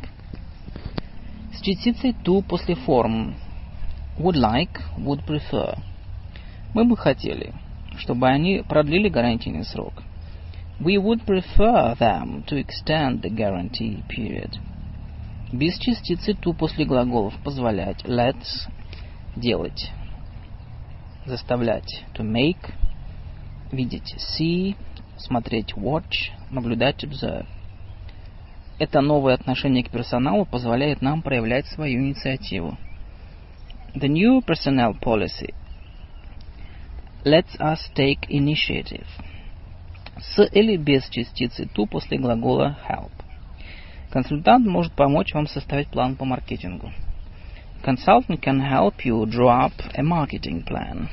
С частицей to после форм would like, would prefer. Мы бы хотели, чтобы они продлили гарантийный срок. We would prefer them to extend the guarantee period. Без частицы to после глаголов позволять let, делать, заставлять to make, видеть see, смотреть watch, наблюдать observe. Это новое отношение к персоналу позволяет нам проявлять свою инициативу. The new personnel policy lets us take initiative. С или без частицы to после глагола help. Консультант может помочь вам составить план по маркетингу. Consultant can help you draw up a marketing plan.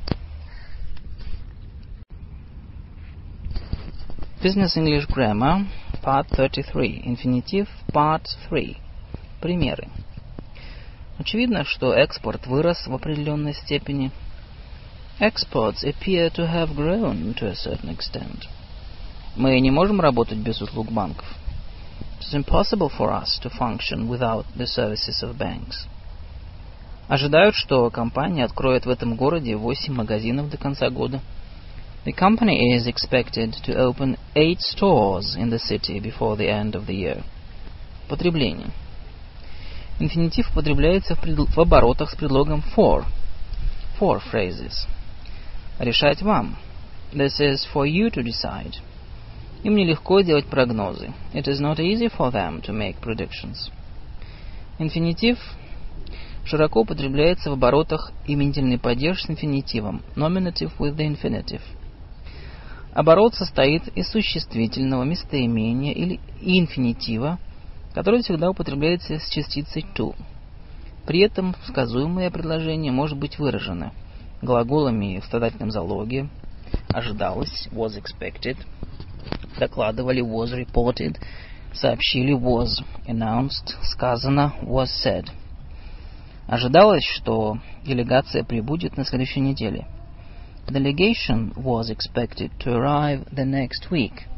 Business English Grammar, Part thirty-three. Инфинитив, Part three. Примеры. Очевидно, что экспорт вырос в определенной степени. Exports appear to have grown to a certain extent. Мы не можем работать без услуг банков. It's impossible for us to function without the services of banks. Ожидают, что компания откроет в этом городе восемь магазинов до конца года. The company is expected to open eight stores in the city before the end of the year. Потребление. Инфинитив употребляется в, пред... в оборотах с предлогом for. For phrases. Решать вам. This is for you to decide. Им нелегко делать прогнозы. It is not easy for them to make predictions. Инфинитив широко употребляется в оборотах именительный падеж с инфинитивом. Nominative with the infinitive. Оборот состоит из существительного, местоимения или инфинитива, который всегда употребляется с частицей to. При этом сказуемое предложение может быть выражено глаголами в страдательном залоге. Ожидалось, was expected. Докладывали, was reported. Сообщили, was announced. Сказано, was said. Ожидалось, что делегация прибудет на следующей неделе. The delegation was expected to arrive the next week.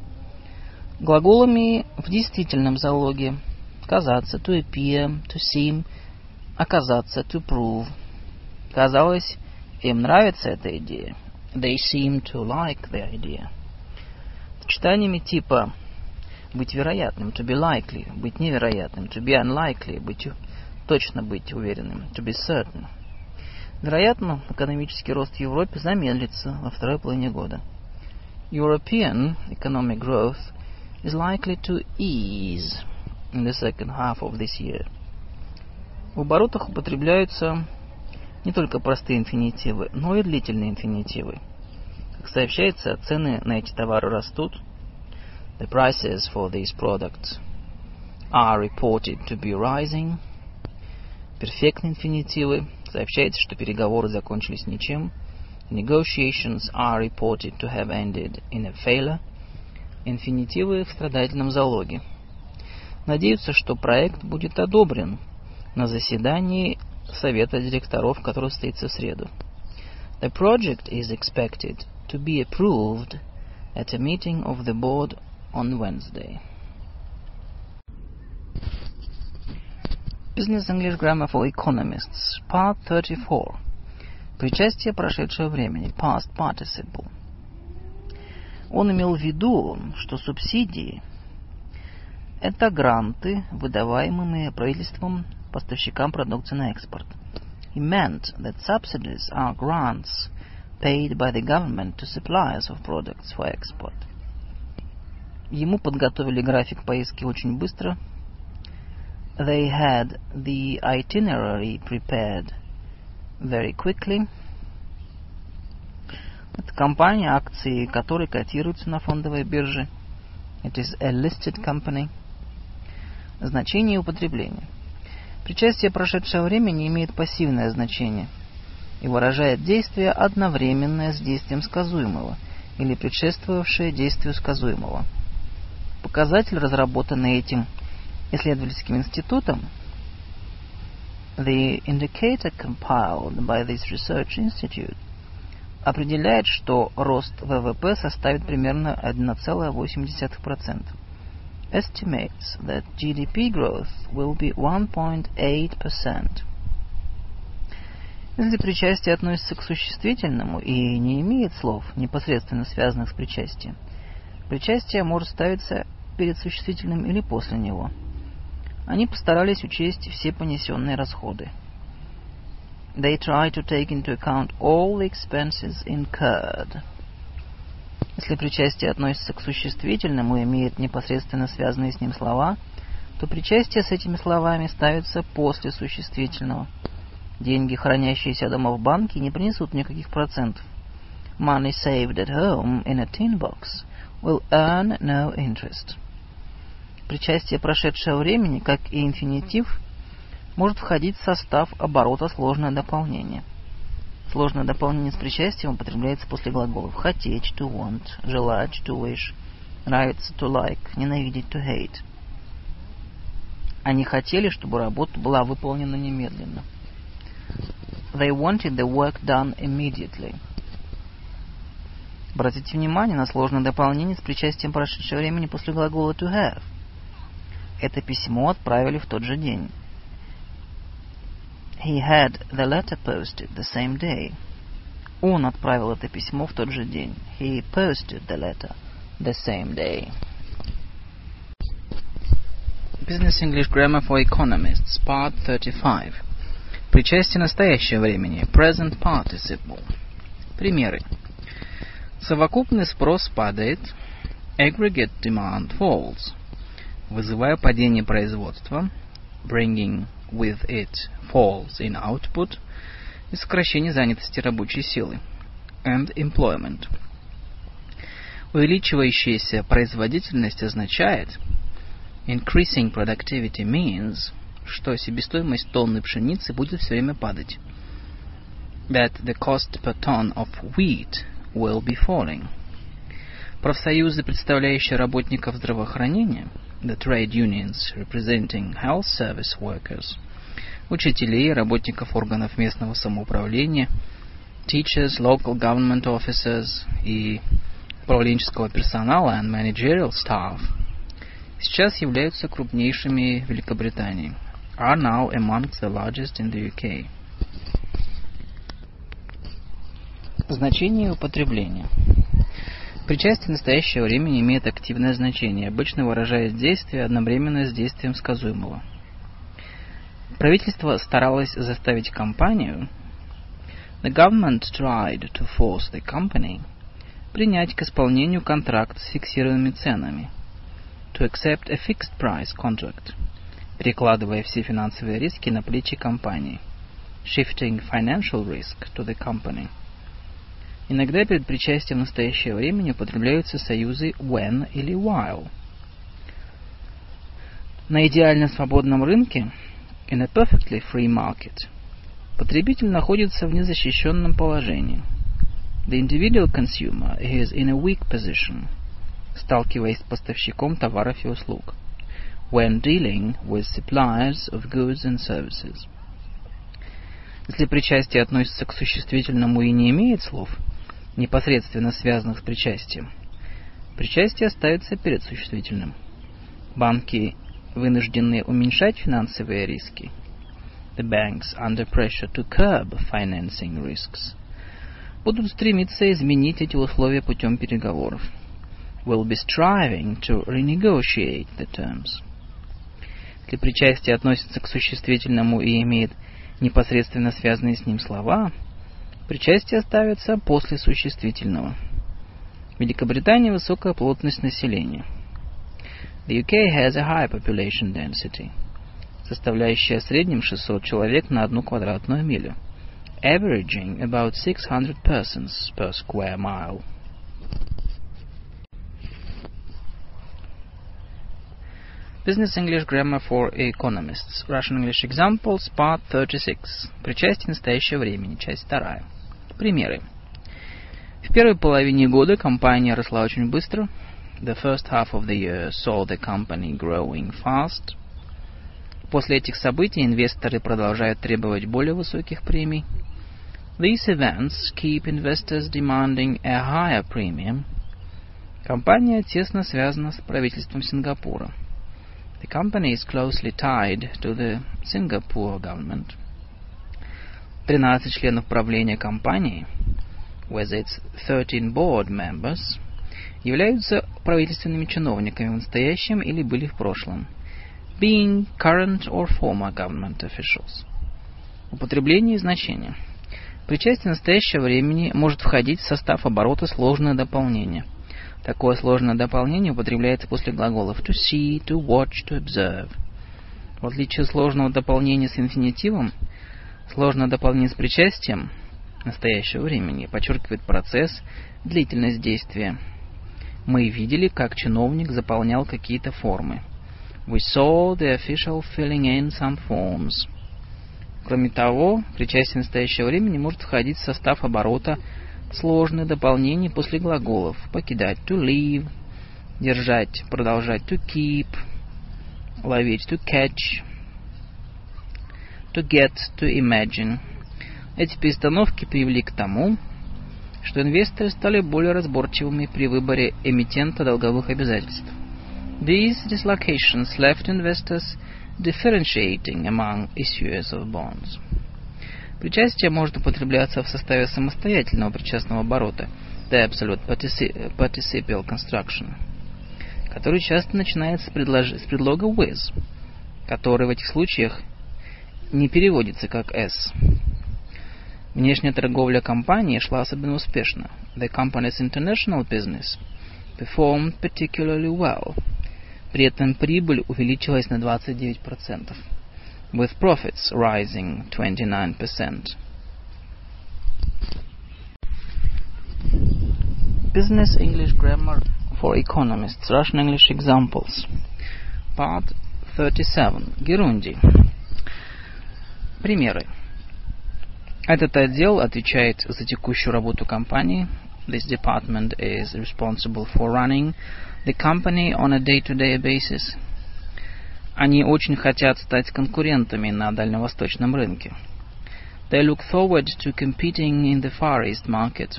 Глаголами в действительном залоге. Казаться, to appear, to seem. Оказаться, to prove. Казалось, им нравится эта идея. They seem to like the idea. Сочетаниями типа быть вероятным, to be likely, быть невероятным, to be unlikely, быть точно быть уверенным, to be certain. Вероятно, экономический рост в Европе замедлится во второй половине года. European economic growth is likely to ease in the second half of this year. В оборотах употребляются не только простые инфинитивы, но и длительные инфинитивы. Как сообщается, цены на эти товары растут. The prices for these products are reported to be rising. Перфектные инфинитивы. Сообщается, что переговоры закончились ничем. Negotiations are reported to have ended in a failure. Инфинитивы в страдательном залоге. Надеются, что проект будет одобрен на заседании совета директоров, который состоится в среду. The project is expected to be approved at a meeting of the board on Wednesday. Business English Grammar for Economists, Part thirty-four. Причастие прошедшего времени, Past Participle. Он имел в виду, что субсидии – это гранты, выдаваемые правительством поставщикам продукции на экспорт. He meant that subsidies are grants paid by the government to suppliers of products for export. Ему подготовили график поездки очень быстро. They had the itinerary prepared very quickly. Это компания, акции которой котируются на фондовой бирже. It is a listed company. Значение и употребление. Причастие прошедшего времени имеет пассивное значение и выражает действие, одновременное с действием сказуемого или предшествовавшее действию сказуемого. Показатель, разработанный этим исследовательским институтом, the indicator compiled by this research institute, определяет, что рост ВВП составит примерно one point eight percent. Estimates that G D P growth will be one point eight percent. Если причастие относится к существительному и не имеет слов, непосредственно связанных с причастием, причастие может ставиться перед существительным или после него. Они постарались учесть все понесенные расходы. They try to take into account all the expenses incurred. Если причастие относится к существительному и имеет непосредственно связанные с ним слова, то причастие с этими словами ставится после существительного. Деньги, хранящиеся дома в банке, не принесут никаких процентов. Money saved at home in a tin box will earn no interest. Причастие прошедшего времени, как и инфинитив, может входить в состав оборота сложное дополнение. Сложное дополнение с причастием употребляется после глаголов хотеть, to want, желать, to wish, нравится, to like, ненавидеть, to hate. Они хотели, чтобы работа была выполнена немедленно. They wanted the work done immediately. Обратите внимание на сложное дополнение с причастием прошедшего времени после глагола to have. Это письмо отправили в тот же день. He had the letter posted the same day. Он отправил это письмо в тот же день. He posted the letter the same day. Business English Grammar for Economists, Part thirty-five. Причастие настоящего времени, Present Participle. Примеры. Совокупный спрос падает, Aggregate demand falls, вызывая падение производства, Bringing with it falls in output, и сокращение занятости рабочей силы, and employment. Увеличивающаяся производительность означает, Increasing productivity means, что себестоимость тонны пшеницы будет все время падать, That the cost per ton of wheat will be falling. Профсоюзы, представляющие работников здравоохранения, the trade unions representing health service workers, учителей, работников органов местного самоуправления, teachers, local government officers и управленческого персонала and managerial staff, сейчас являются крупнейшими в Великобритании, are now amongst the largest in the ю кей. Значение и употребление. Причастие настоящего времени имеет активное значение, обычно выражает действие одновременно с действием сказуемого. Правительство старалось заставить компанию, the government tried to force the company, принять к исполнению контракт с фиксированными ценами, to accept a fixed price contract, перекладывая все финансовые риски на плечи компании, shifting financial risk to the company. Иногда перед причастием настоящего времени употребляются союзы when или while. На идеально свободном рынке, in a perfectly free market, потребитель находится в незащищенном положении. The individual consumer is in a weak position, сталкиваясь с поставщиком товаров и услуг, when dealing with suppliers of goods and services. Если причастие относится к существительному и не имеет слов, непосредственно связанных с причастием, причастие ставится перед существительным. Банки вынуждены уменьшать финансовые риски. The banks, under pressure to curb financing risks, будут стремиться изменить эти условия путем переговоров. Will be striving to renegotiate the terms. Если причастие относится к существительному и имеет непосредственно связанные с ним слова, причастие ставится после существительного. В Великобритании высокая плотность населения. The ю кей has a high population density, составляющая в среднем шестьсот человек на одну квадратную милю, averaging about six hundred persons per square mile. Business English Grammar for Economists. Russian English Examples, Part thirty-six. Причастие настоящего времени, часть вторая. Примеры. В первой половине года компания росла очень быстро. The first half of the year saw the company growing fast. После этих событий инвесторы продолжают требовать более высоких премий. These events keep investors demanding a higher premium. Компания тесно связана с правительством Сингапура. The company is closely tied to the Singapore government. тринадцать членов правления компании, with its thirteen board members, являются правительственными чиновниками в настоящем или были в прошлом, being current or former government officials. Употребление и значение. Причастие настоящего времени может входить в состав оборота сложное дополнение. Такое сложное дополнение употребляется после глаголов to see, to watch, to observe. В отличие от сложного дополнения с инфинитивом, сложное дополнение с причастием настоящего времени подчеркивает процесс, длительность действия. Мы видели, как чиновник заполнял какие-то формы. We saw the official filling in some forms. Кроме того, причастие настоящего времени может входить в состав оборота сложное дополнение после глаголов покидать to leave, держать, продолжать to keep, ловить to catch, to get, to imagine. Эти перестановки привели к тому, что инвесторы стали более разборчивыми при выборе эмитента долговых обязательств. These dislocations left investors differentiating among issuers of bonds. Причастие может употребляться в составе самостоятельного причастного оборота, the absolute participial construction, который часто начинается с, предлож... с предлога with, который в этих случаях не переводится как as. Внешняя торговля компании шла особенно успешно. The company's international business performed particularly well. При этом прибыль увеличилась на двадцать девять процентов. With profits rising twenty-nine percent. Business English Grammar for Economists. Russian English Examples. Part thirty-seven. Герунди. Примеры. Этот отдел отвечает за текущую работу компании. This department is responsible for running the company on a day-to-day basis. Они очень хотят стать конкурентами на дальневосточном рынке. They look forward to competing in the Far East market.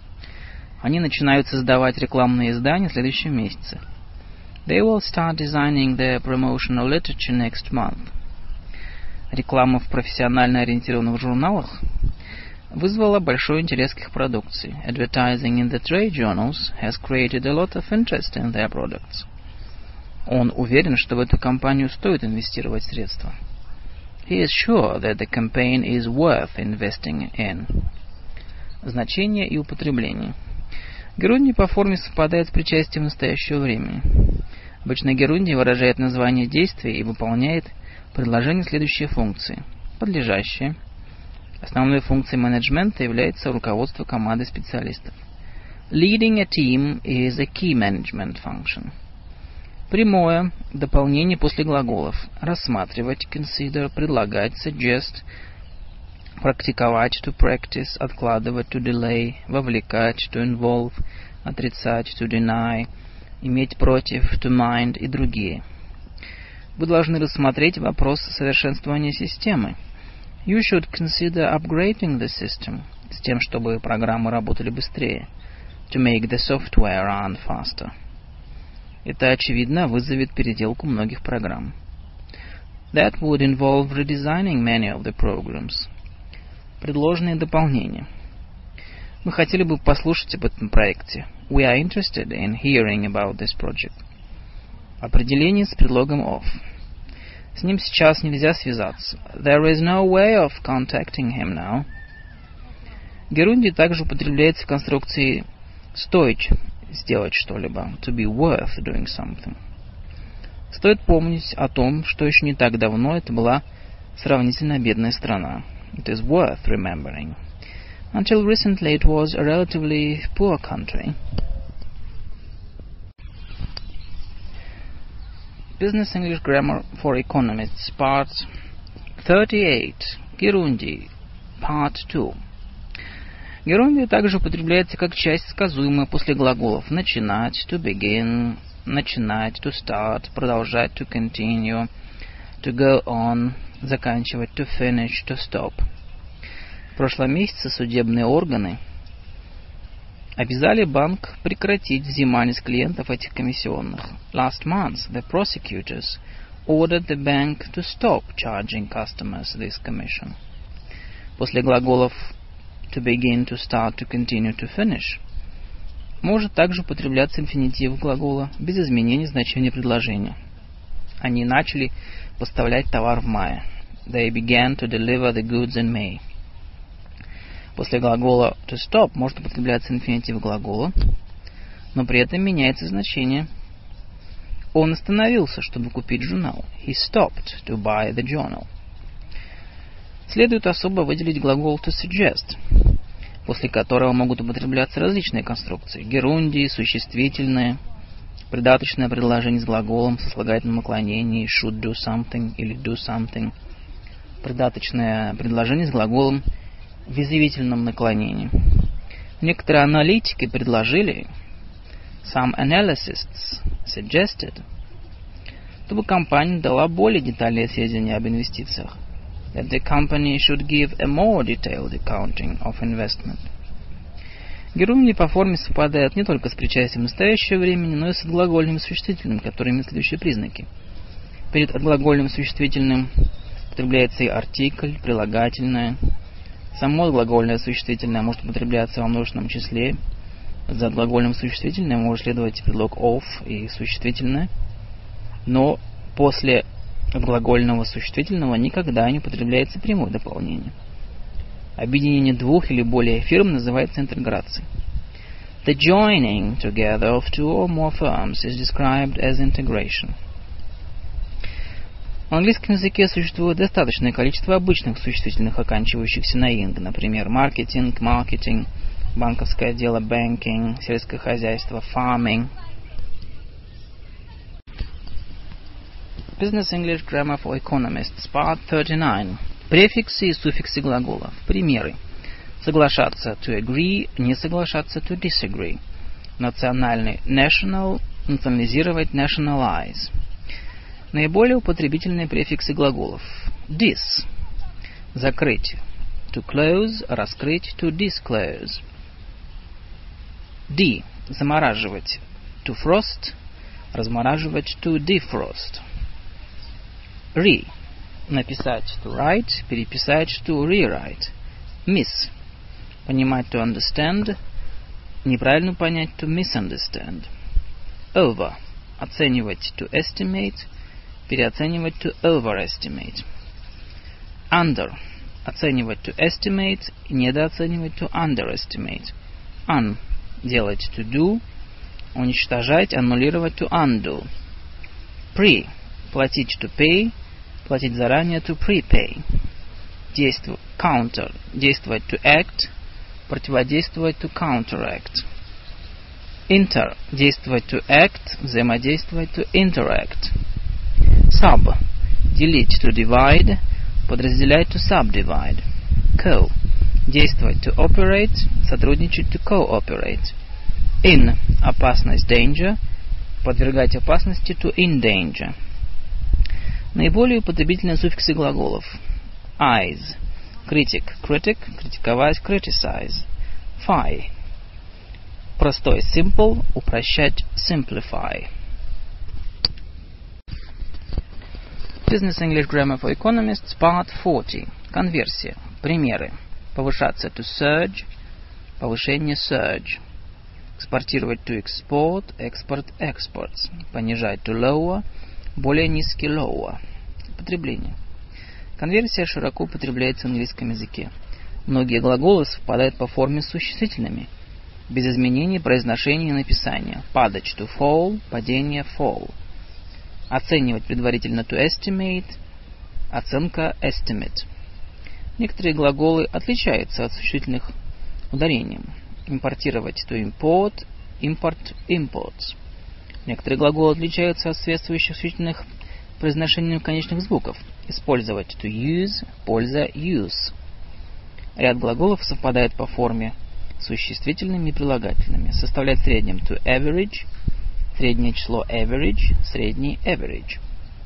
Они начинают создавать рекламные издания в следующем месяце. They will start designing their promotional literature next month. Реклама в профессионально ориентированных журналах вызвала большой интерес к их продукции. Advertising in the trade journals has created a lot of interest in their products. Он уверен, что в эту кампанию стоит инвестировать средства. He is sure that the campaign is worth investing in. Значение и употребление. Герунди по форме совпадает с причастием настоящего времени. Обычно герунди выражает название действия и выполняет предложение следующей функции. Подлежащее. Основной функцией менеджмента является руководство командой специалистов. Leading a team is a key management function. Прямое дополнение после глаголов. Рассматривать, consider, предлагать, suggest, практиковать, to practice, откладывать, to delay, вовлекать, to involve, отрицать, to deny, иметь против, to mind и другие. Вы должны рассмотреть вопрос совершенствования системы. You should consider upgrading the system, с тем, чтобы программы работали быстрее. To make the software run faster. Это, очевидно, вызовет переделку многих программ. That would involve redesigning many of the programs. Предложенные дополнения. Мы хотели бы послушать об этом проекте. We are interested in hearing about this project. Определение с предлогом of. С ним сейчас нельзя связаться. There is no way of contacting him now. Герунди также употребляется в конструкции стоить сделать что-либо. To be worth doing something. Стоит помнить о том, что еще не так давно это была сравнительно бедная страна. It is worth remembering. Until recently it was a relatively poor country. Business English Grammar for Economists, Part thirty-eight. Герунди, Part two. Герунди также употребляется как часть сказуемая после глаголов начинать, to begin, начинать, to start, продолжать, to continue, to go on, заканчивать, to finish, to stop. В прошлом месяце судебные органы обязали банк прекратить взимание с клиентов этих комиссионных. Last month, the prosecutors ordered the bank to stop charging customers this commission. После глаголов to begin, to start, to continue, to finish может также употребляться инфинитив глагола без изменения значения предложения. Они начали поставлять товар в мае. They began to deliver the goods in May. После глагола to stop может употребляться инфинитив глагола, но при этом меняется значение. Он остановился, чтобы купить журнал. He stopped to buy the journal. Следует особо выделить глагол to suggest, после которого могут употребляться различные конструкции. Герундии, существительные, придаточное предложение с глаголом в сослагательном наклонении should do something или do something, придаточное предложение с глаголом в изъявительном наклонении. Некоторые аналитики предложили, some analysts suggested, чтобы компания дала более детальные сведения об инвестициях. That the company should give a more detailed accounting of investment. Герунди по форме совпадает не только с причастием настоящего времени, но и с отглагольным существительным, который имеет следующие признаки. Перед отглагольным существительным употребляется и артикль, прилагательное. Само глагольное существительное может употребляться во множественном числе. За глагольным существительным может следовать предлог of и существительное. Но после глагольного существительного никогда не употребляется прямое дополнение. Объединение двух или более фирм называется интеграцией. The joining together of two or more firms is described as integration. В английском языке существует достаточное количество обычных существительных, оканчивающихся на «ing», например, маркетинг, маркетинг, банковское дело, banking, сельское хозяйство, farming. Business English Grammar for Economists, Part thirty-nine. Префиксы и суффиксы глаголов. Примеры. Соглашаться to agree, не соглашаться to disagree. Национальный national, национализировать nationalize. Наиболее употребительные префиксы глаголов. Dis – закрыть. To close – раскрыть, to disclose. De – замораживать. To frost – размораживать, to defrost. Re – написать, to write, переписать, to rewrite. Miss – понимать, to understand, неправильно понять, to misunderstand. Over – оценивать, to estimate, переоценивать, to overestimate. Under – оценивать, to estimate, недооценивать, to underestimate. Un – делать, to do, уничтожать, аннулировать, to undo. Pre – платить, to pay, платить заранее, to prepay. Действовать, counter – действовать, to act, противодействовать, to counteract. Inter – действовать, to act, взаимодействовать, to interact. Sub – делить, to divide, подразделять, to subdivide. Co – действовать, to operate, сотрудничать, to cooperate. In – опасность, danger, подвергать опасности, to endanger. Наиболее употребительные суффиксы глаголов. Eyes – критик, critic, критиковать, criticize. Fi – простой, simple, упрощать, simplify. Business English Grammar for Economists, Part forty. Конверсия. Примеры. Повышаться to surge, повышение surge. Экспортировать to export, export exports. Понижать to lower, более низкий lower. Употребление. Конверсия широко употребляется в английском языке. Многие глаголы совпадают по форме с существительными, без изменений произношения и написания. Падать to fall, падение fall. Оценивать предварительно to estimate, оценка estimate. Некоторые глаголы отличаются от существительных ударением. Импортировать to import, import imports. Некоторые глаголы отличаются от соответствующих существительных произношением конечных звуков. Использовать to use, польза use. Ряд глаголов совпадает по форме с существительными и прилагательными. Составлять в среднем to average, среднее число average, средний average.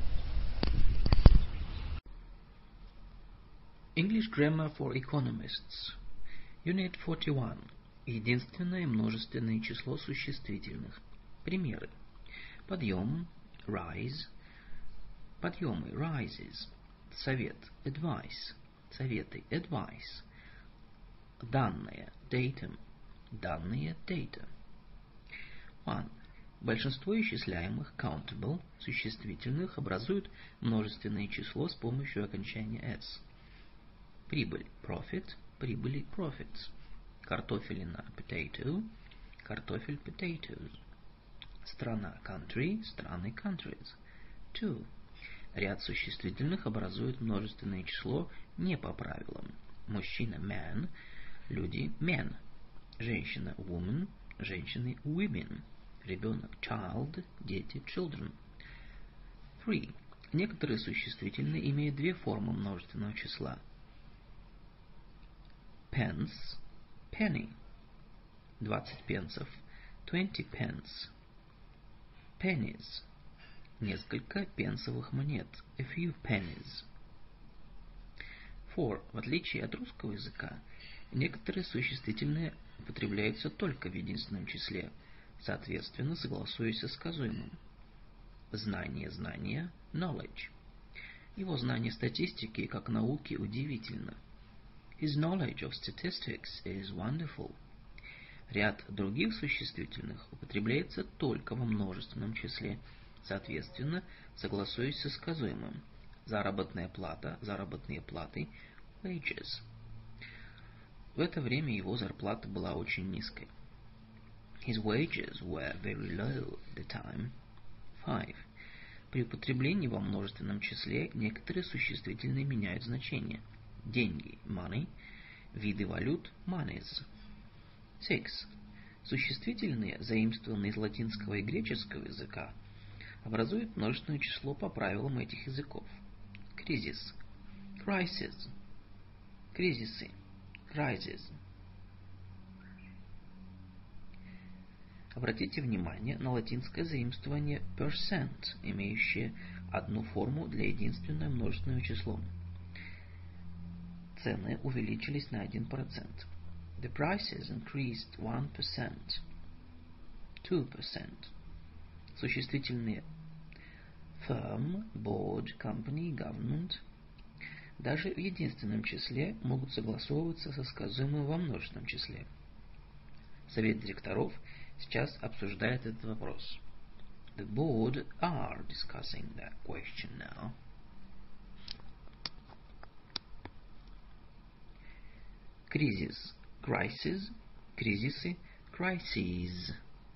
English Grammar for Economists. Unit forty-one. Единственное множественное число существительных. Примеры. Подъем, rise, подъемы, rises. Совет, advice, советы, advice. Данные, datum, данные, data. One. Большинство исчисляемых, countable, существительных образуют множественное число с помощью окончания s. Прибыль, profit, прибыли, profits. Картофелина, potato, картофель, potatoes. Страна, country, страны, countries. Two. Ряд существительных образует множественное число не по правилам. Мужчина, man, люди, men. Женщина, woman, женщины, women. Ребенок, child, дети, children. Three. Некоторые существительные имеют две формы множественного числа. Pence, penny, двадцать пенсов, twenty pence. Pennies, несколько пенсовых монет, a few pennies. Four. В отличие от русского языка, некоторые существительные употребляется только в единственном числе, соответственно, согласуясь со сказуемым. Знание, знание, knowledge. Его знание статистики как науки удивительно. His knowledge of statistics is wonderful. Ряд других существительных употребляется только во множественном числе, соответственно, согласуясь со сказуемым. Заработная плата, заработные платы, wages. В это время его зарплата была очень низкой. His wages were very low at the time. five. При употреблении во множественном числе некоторые существительные меняют значение. Деньги – money, виды валют – monies. six. Существительные, заимствованные из латинского и греческого языка, образуют множественное число по правилам этих языков. Кризис – crisis, кризисы – crisis. Обратите внимание на латинское заимствование percent, имеющее одну форму для единственного множественного числа. Цены увеличились на один процент. The prices increased one percent. two percent. Существительные firm, board, company, government даже в единственном числе могут согласовываться со сказуемым во множественном числе. Совет директоров сейчас обсуждает этот вопрос. The board are discussing that question now. Кризис, crisis, кризисы, crises.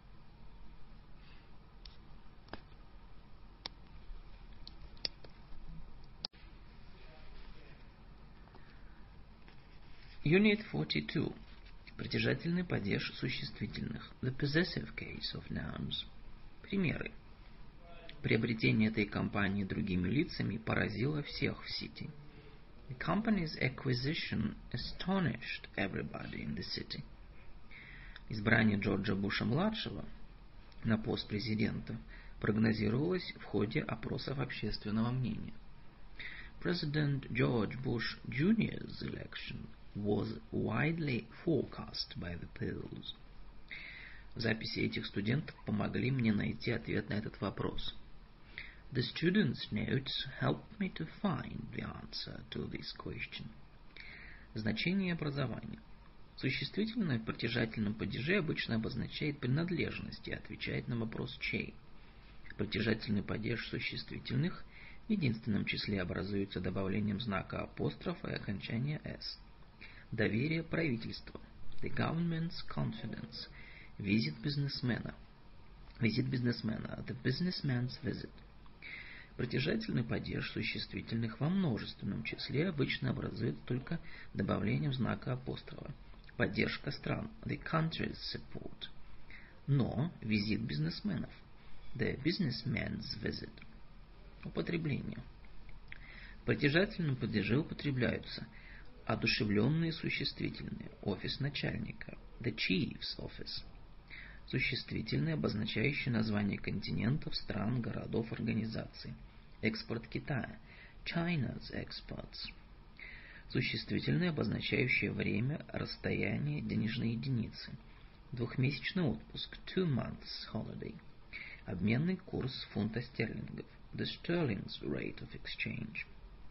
Unit forty-two. Притяжательный падеж существительных. The possessive case of nouns. Примеры. Приобретение этой компании другими лицами поразило всех в Сити. The company's acquisition astonished everybody in the city. Избрание Джорджа Буша-младшего на пост президента прогнозировалось в ходе опросов общественного мнения. President George Bush Junior's election was widely forecast by the polls. Записи этих студентов помогли мне найти ответ на этот вопрос. The students' notes helped me to find the answer to this question. Значение образования. Существительное в притяжательном падеже обычно обозначает принадлежность и отвечает на вопрос чей. Притяжательный падеж существительных в единственном числе образуется добавлением знака апострофа и окончания «s». Доверие правительства. The government's confidence. Визит бизнесмена. Визит бизнесмена. The businessman's visit. Притяжательный падеж существительных во множественном числе обычно образует только добавлением знака апострофа. Поддержка стран. The country's support. Но визит бизнесменов. The businessman's visit. Употребление. В притяжательном падеже употребляются одушевленные существительные. Офис начальника. The chief's office. Существительные, обозначающие название континентов, стран, городов, организаций. Экспорт Китая. China's exports. Существительные, обозначающие время, расстояние, денежные единицы. Двухмесячный отпуск. Two months holiday. Обменный курс фунта стерлингов. The sterling's rate of exchange.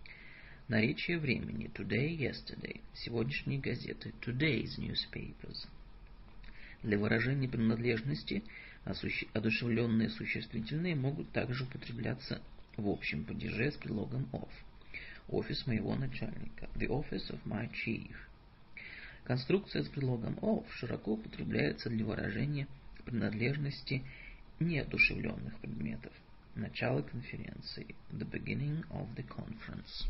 Наречие времени. Today, yesterday. Сегодняшние газеты. Today's newspapers. Для выражения принадлежности одушевленные существительные могут также употребляться в общем падеже с предлогом of. Офис моего начальника. The office of my chief. Конструкция с предлогом of широко употребляется для выражения принадлежности неодушевленных предметов. Начало конференции. The beginning of the conference.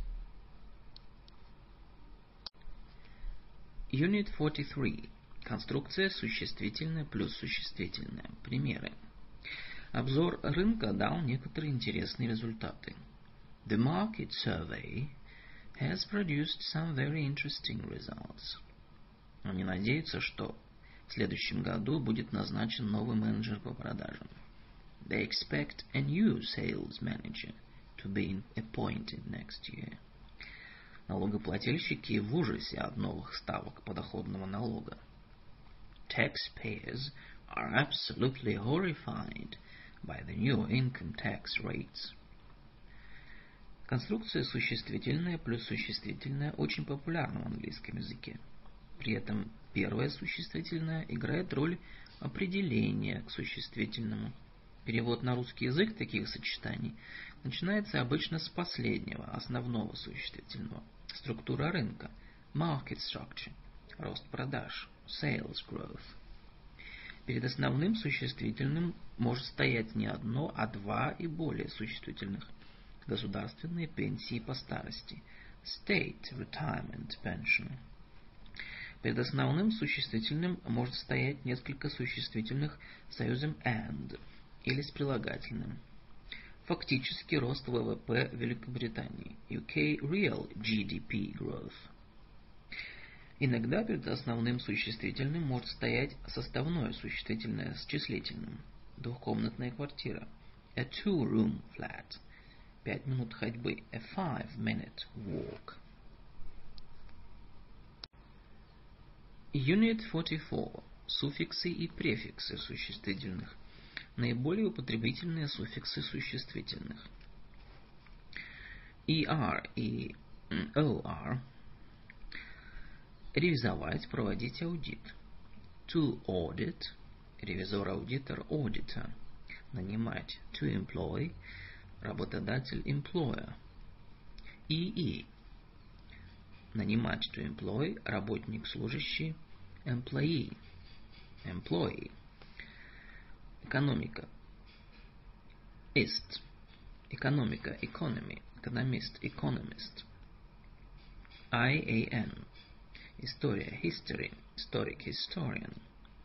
Unit forty-three. Конструкция существительное плюс существительное. Примеры. Обзор рынка дал некоторые интересные результаты. The market survey has produced some very interesting results. Они надеются, что в следующем году будет назначен новый менеджер по продажам. They expect a new sales manager to be appointed next year. Налогоплательщики в ужасе от новых ставок подоходного налога. taxpayers are absolutely horrified by the new income tax rates. Конструкция существительное плюс существительное очень популярна в английском языке. При этом первое существительное играет роль определения к существительному. Перевод на русский язык таких сочетаний начинается обычно с последнего, основного существительного. Структура рынка – market structure, рост продаж – sales growth. Перед основным существительным может стоять не одно, а два и более существительных. Государственные пенсии по старости – state retirement pension. Перед основным существительным может стоять несколько существительных с союзом and или с прилагательным. Фактически рост ВВП Великобритании – ю кей Real джи ди пи Growth. Иногда перед основным существительным может стоять составное существительное с числительным. Двухкомнатная квартира – a two-room flat. Пять минут ходьбы – a five-minute walk. Unit сорок четыре. Суффиксы и префиксы существительных. Наиболее употребительные суффиксы существительных. er и or. Ревизовать, проводить аудит. To audit. Ревизор-аудитор, auditor. Нанимать. To employ. Работодатель, employer. ИИ. Нанимать, to employ. Работник, служащий, employee. Employee. Экономика. Ist. Экономика, economy. Экономист, economist. ай эй эн. История, history. Historic, historian.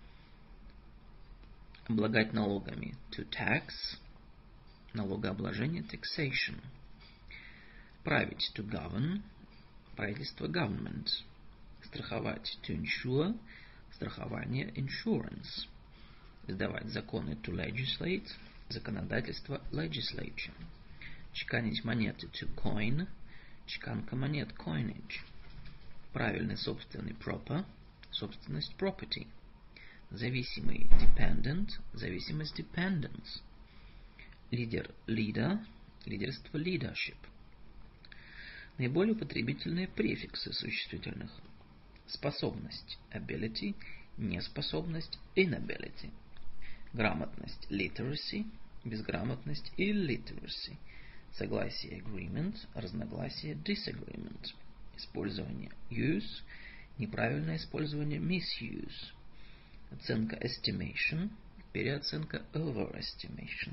Облагать налогами. To tax. Налогообложение, taxation. Править, to govern. Правительство, government. Страховать, to insure. Страхование, insurance. Издавать законы, to legislate. Законодательство, legislature. Чеканить монеты, to coin. Чеканка монет, coinage. Правильный, собственный, proper. Собственность, property. Зависимый, dependent. Зависимость, dependence. Лидер, leader. Лидерство, leadership. Наиболее употребительные префиксы существительных. Способность, ability. Неспособность, inability. Грамотность, literacy. Безграмотность, illiteracy. Согласие, agreement. Разногласие, disagreement. Использование, use. Неправильное использование, misuse. Оценка, estimation. Переоценка, overestimation.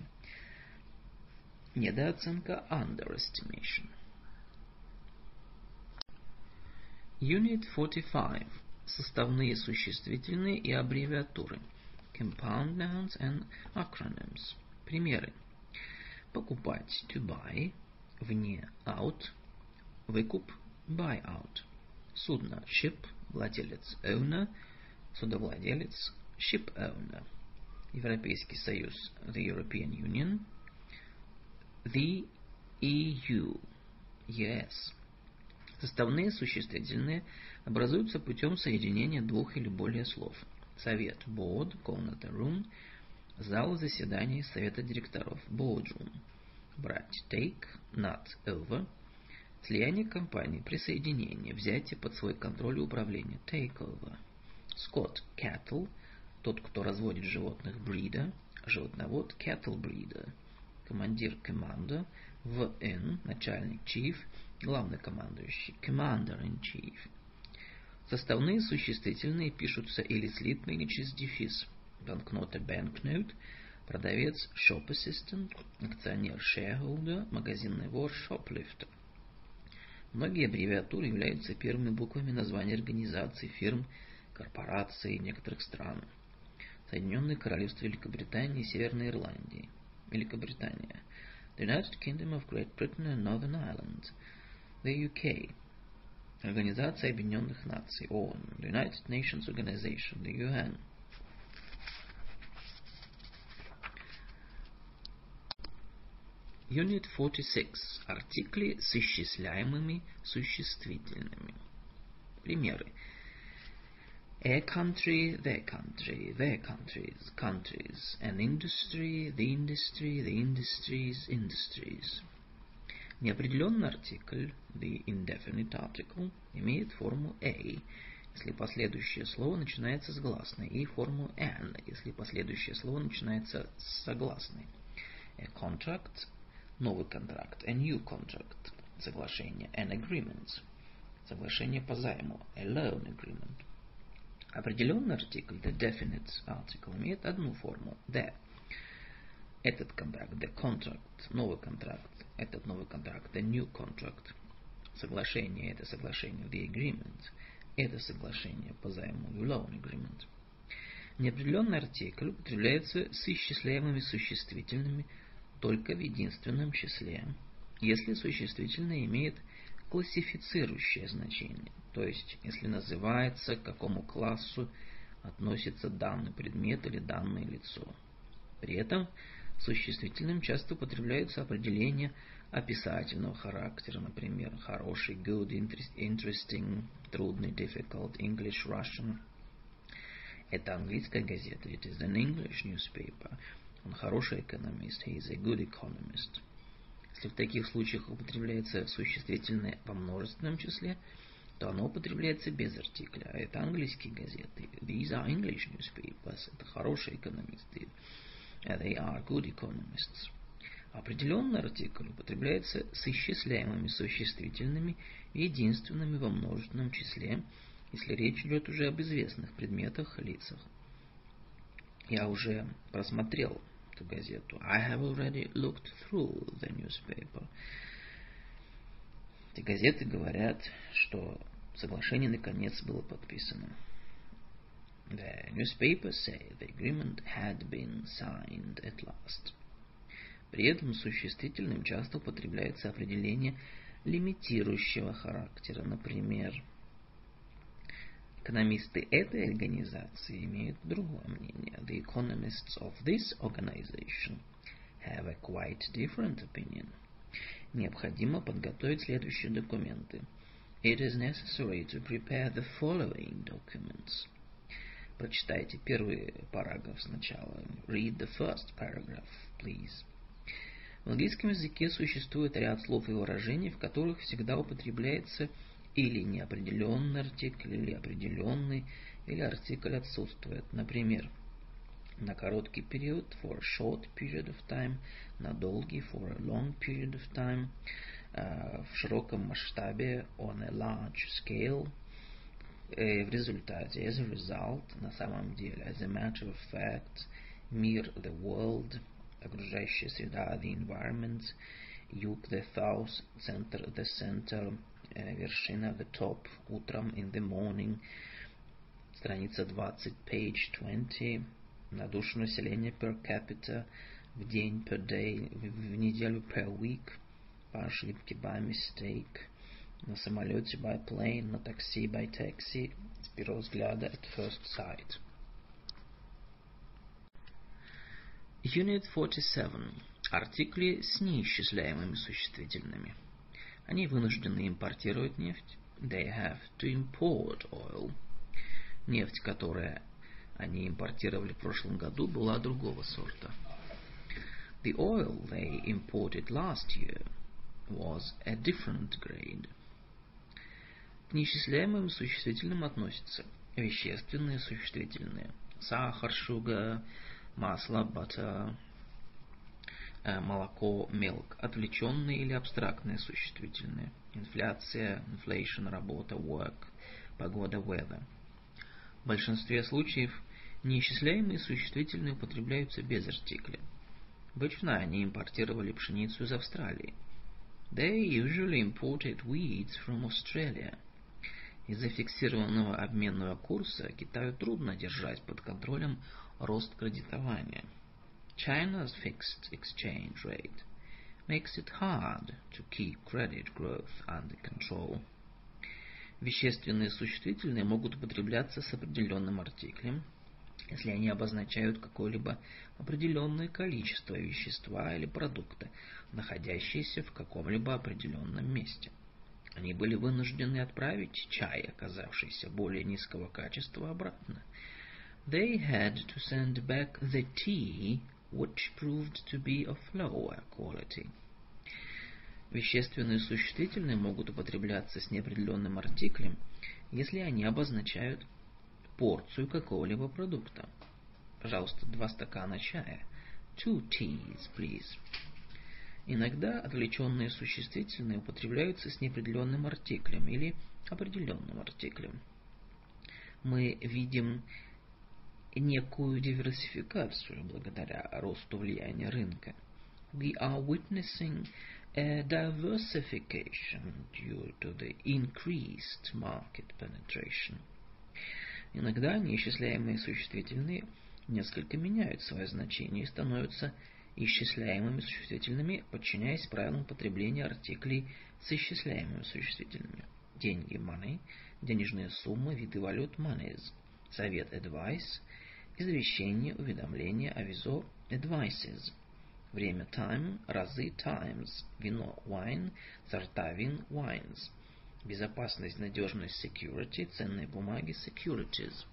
Недооценка, underestimation. Unit сорок пять. Составные существительные и аббревиатуры. Compound nouns and acronyms. Примеры. Покупать, to buy. Вне, out. Выкуп, buy out. Судно, ship. Владелец, owner. Судовладелец, ship owner. Европейский Союз, the European Union. The и ю, ю эс. Составные существительные образуются путем соединения двух или более слов. Совет, board, комната, room. Зал заседаний совета директоров, boardroom. Брать, take, not, over. Слияние компаний, присоединение, взятие под свой контроль и управление, take over. Скот, cattle. Тот, кто разводит животных, breeder. Животновод, cattle breeder. Командир, commander. В Н, начальник, chief. Главный командующий, commander-in-chief. Составные существительные пишутся или слитно, или через дефис. Банкнота, banknote. Продавец, shop assistant. Акционер, shareholder. Магазинный вор, shoplifter. Многие аббревиатуры являются первыми буквами названий организаций, фирм, корпораций некоторых стран. Соединенное Королевство Великобритании и Северной Ирландии. Великобритания. The United Kingdom of Great Britain and Northern Ireland. The ю кей. Организация Объединенных Наций, ООН. The United Nations Organization, the ю эн. Unit сорок шесть. Артикли с исчисляемыми существительными. Примеры. A country, their country, their countries, countries. An industry, the industry, the industries, industries. Неопределенный артикль, the indefinite article, имеет форму a, если последующее слово начинается с гласной, и форму an, если последующее слово начинается с согласной. A contract, новый контракт, a new contract, соглашение, an agreement, соглашение по займу, a loan agreement. Определенный артикль, the definite article, имеет одну форму, the. Этот контракт, the contract, новый контракт, этот новый контракт, the new contract. Соглашение, это соглашение, the agreement, это соглашение по займу, the loan agreement. Неопределенный артикль употребляется с исчисляемыми существительными только в единственном числе, если существительное имеет классифицирующее значение, то есть если называется, к какому классу относится данный предмет или данное лицо. При этом существительным часто употребляются определения описательного характера, например, хороший, good, interesting, трудный, difficult, English, Russian. Это английская газета, it is an English newspaper. Он хороший экономист, he is a good economist. Если в таких случаях употребляется существительное во множественном числе, то оно употребляется без артикля. А это английские газеты. These are English newspapers. Это хорошие экономисты. They are good economists. Определенный артикль употребляется с исчисляемыми существительными единственными во множественном числе, если речь идет уже об известных предметах, лицах. Я уже просмотрел эту газету. I have already looked through the newspaper. Эти газеты говорят, что соглашение наконец было подписано. The newspapers say the agreement had been signed at last. При этом существительным часто употребляется определение лимитирующего характера. Например, экономисты этой организации имеют другое мнение. The economists of this organization have a quite different opinion. Необходимо подготовить следующие документы. It is necessary to prepare the following documents. Прочитайте первый параграф сначала. Read the first paragraph, please. В английском языке существует ряд слов и выражений, в которых всегда употребляется или неопределенный артикль, или определенный, или артикль отсутствует. Например, на короткий период, for a short period of time, на долгий, for a long period of time, в широком масштабе, on a large scale, в результате, as a result, на самом деле, as a matter of fact, мир, the world, окружающая среда, the environment, юг, the south, центр, the center, вершина, the top, утром, in the morning, страница двадцать, page twenty, на душу населения per capita, в день, per day, в неделю, per week, по ошибке, by mistake, на самолете, by plane, на такси, by taxi, с первого взгляда, at first sight. Unit forty-seven. Артикли с неисчисляемыми существительными. Они вынуждены импортировать нефть. They have to import oil. Нефть, которую они импортировали в прошлом году, была другого сорта. The oil they imported last year was a different grade. К неисчисляемым существительным относятся вещественные существительные. Сахар, sugar, масло, butter, молоко, milk. Отвлеченные или абстрактные существительные. Инфляция, inflation, работа, work, погода, weather. В большинстве случаев неисчисляемые существительные употребляются без артикля. Обычно они импортировали пшеницу из Австралии. They usually imported wheat from Australia. Из-за фиксированного обменного курса Китаю трудно держать под контролем рост кредитования. China's fixed exchange rate makes it hard to keep credit growth under control. Вещественные существительные могут употребляться с определенным артиклем, если они обозначают какое-либо определенное количество вещества или продукта, находящееся в каком-либо определенном месте. Они были вынуждены отправить чай, оказавшийся более низкого качества, обратно. They had to send back the tea, which proved to be of lower quality. Вещественные существительные могут употребляться с неопределенным артиклем, если они обозначают порцию какого-либо продукта. Пожалуйста, два стакана чая. Two teas, please. Иногда отвлеченные существительные употребляются с неопределенным артиклем или определенным артиклем. Мы видим некую диверсификацию благодаря росту влияния рынка. We are witnessing a diversification due to the increased market penetration. Иногда неисчисляемые существительные несколько меняют свое значение и становятся исчисляемыми существительными, подчиняясь правилам употребления артиклей с исчисляемыми существительными. Деньги – money, денежные суммы, виды валют – monies, совет – advice, извещение, уведомление, авизо – advices, время – time, разы – times, вино – wine, сорта вин – wines, безопасность, надежность – security, ценные бумаги – securities.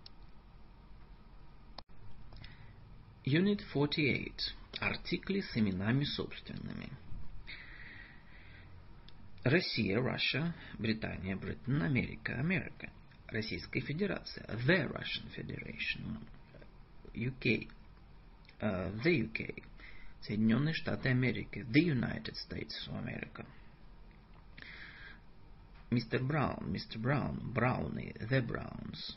Unit forty-eight. Артикли с именами собственными. Россия, Russia, Британия, Britain, Америка, America, Российская Федерация, the Russian Federation, ю кей, uh, the ю кей, Соединенные Штаты Америки, the United States of America. Мистер Браун, мистер Браун, Брауни, the Browns.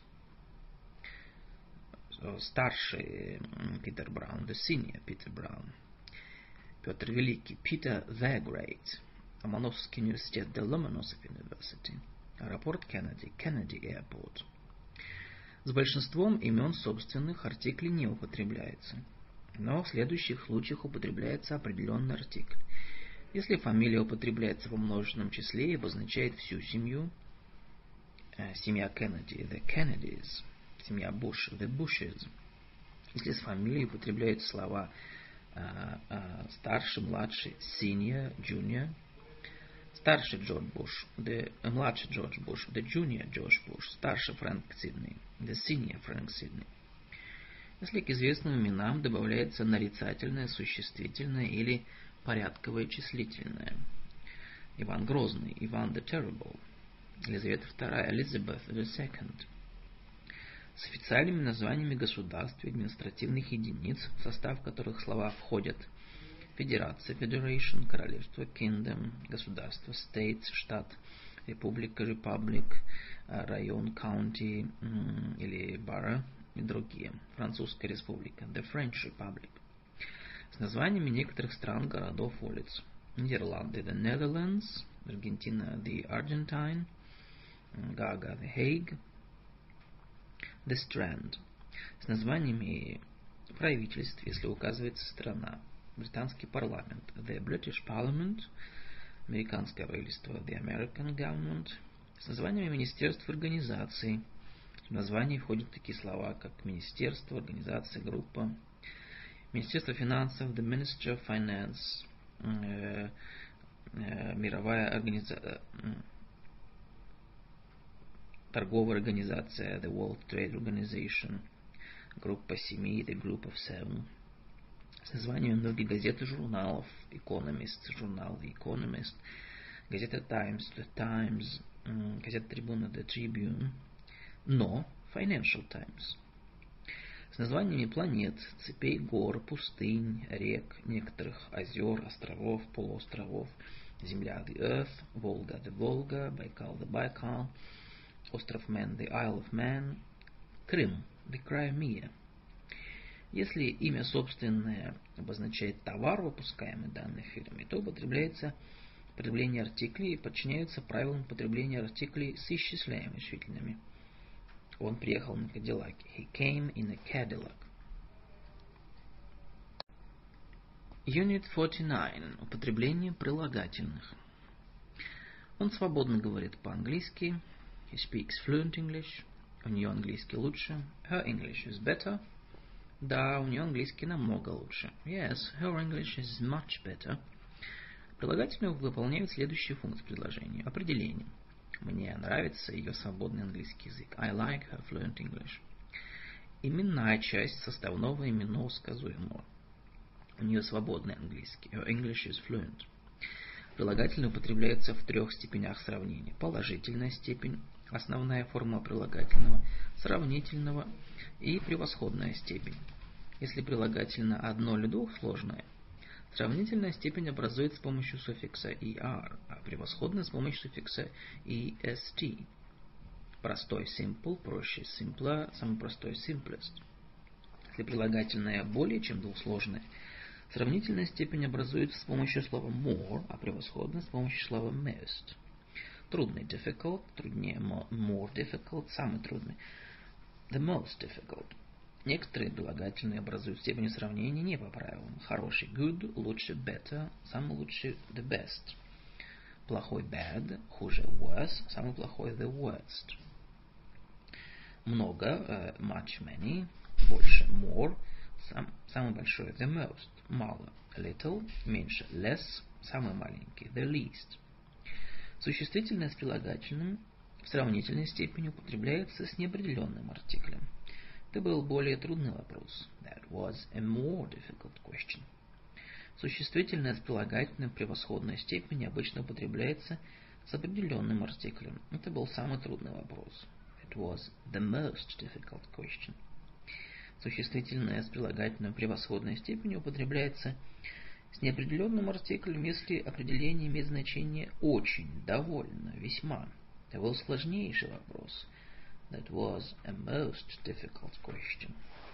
Старший Питер Браун, the senior Peter Brown. Петр Великий, Peter the Great. Ломоносовский университет, the Lomonosov University. Аэропорт Кеннеди, Kennedy Airport. С большинством имен собственных артиклей не употребляется, но в следующих случаях употребляется определенный артикль. Если фамилия употребляется во множественном числе и обозначает всю семью, семья Кеннеди, the Kennedys, семья Буш, the Bushes. Если с фамилией употребляют слова а, а, старший, младший, senior, junior, старший Джордж Буш, the, uh, младший Джордж Буш, the junior Джордж Буш, старший Фрэнк Сидней, the senior Фрэнк Сидней. Если к известным именам добавляется нарицательное, существительное или порядковое числительное. Иван Грозный, Иван the Terrible, Елизавета вторая, Elizabeth the Second. С официальными названиями государств и административных единиц, в состав которых слова входят Федерация, Federation, Королевство, Kingdom, государство, State, штат, Республика, Republic, район, County или Borough и другие. Французская республика, the French Republic. С названиями некоторых стран, городов, улиц. Нидерланды, the Netherlands, Аргентина, the Argentine, Гага, the Hague, the Strand. С названиями правительств, если указывается страна. Британский парламент, the British Parliament, американское правительство, the American Government. С названиями министерств и организаций. В названии входят такие слова, как министерство, организация, группа. Министерство финансов, the Ministry of Finance, э, э, мировая организация, э, торговая организация, the World Trade Organization, группа семи, the Group of Seven. С названиями многих газет и журналов, Economist, журнал The Economist, газета Times, The Times, э, газета Трибуна, The Tribune, но Financial Times. С названиями планет, цепей гор, пустынь, рек, некоторых озер, островов, полуостровов, Земля the Earth, Волга the Volga, Байкал the Baikal, остров Мэн the Isle of Man, Крым the Crimea. Если имя собственное обозначает товар, выпускаемый данной фирмой, то употребляется употребление артиклей и подчиняется правилам употребления артиклей с исчисляемыми существительными. Он приехал на Кадиллаке. He came in a Cadillac. Unit forty-nine. Употребление прилагательных. Он свободно говорит по-английски. He speaks fluent English. У нее английский лучше. Her English is better. Да, у нее английский намного лучше. Yes, her English is much better. Прилагательные выполняют следующие функции предложения. Определение. Мне нравится ее свободный английский язык. I like her fluent English. Именная часть составного именного сказуемого. У нее свободный английский. Her English is fluent. Прилагательные употребляются в трех степенях сравнения. Положительная степень, основная форма прилагательного, сравнительного и превосходная степень. Если прилагательное одно или двухсложное, сравнительная степень образуется с помощью суффикса er, а превосходная с помощью суффикса est. Простой simple, проще simpler, самый простой simplest. Если прилагательное более чем двухсложное, сравнительная степень образуется с помощью слова more, а превосходная с помощью слова most. Трудный difficult, труднее more difficult, самый трудный the most difficult. Некоторые прилагательные образуют степень сравнения не по правилам. Хороший good, лучший better, самый лучший the best. Плохой bad, хуже worse, самый плохой the worst. Много, uh, much, many, больше more, сам, самый большой the most, мало little, меньше less, самый маленький the least. Существительное с прилагательным в сравнительной степени употребляется с неопределенным артиклем. Это был более трудный вопрос. That was a more difficult question. Существительное с прилагательным в превосходной степени обычно употребляется с определенным артиклем. Это был самый трудный вопрос. It was the most difficult question. Существительное с прилагательным в превосходной степени употребляется с неопределенным артиклем, если определение имеет значение очень, довольно, весьма. Это был сложнейший вопрос. That was a most difficult question.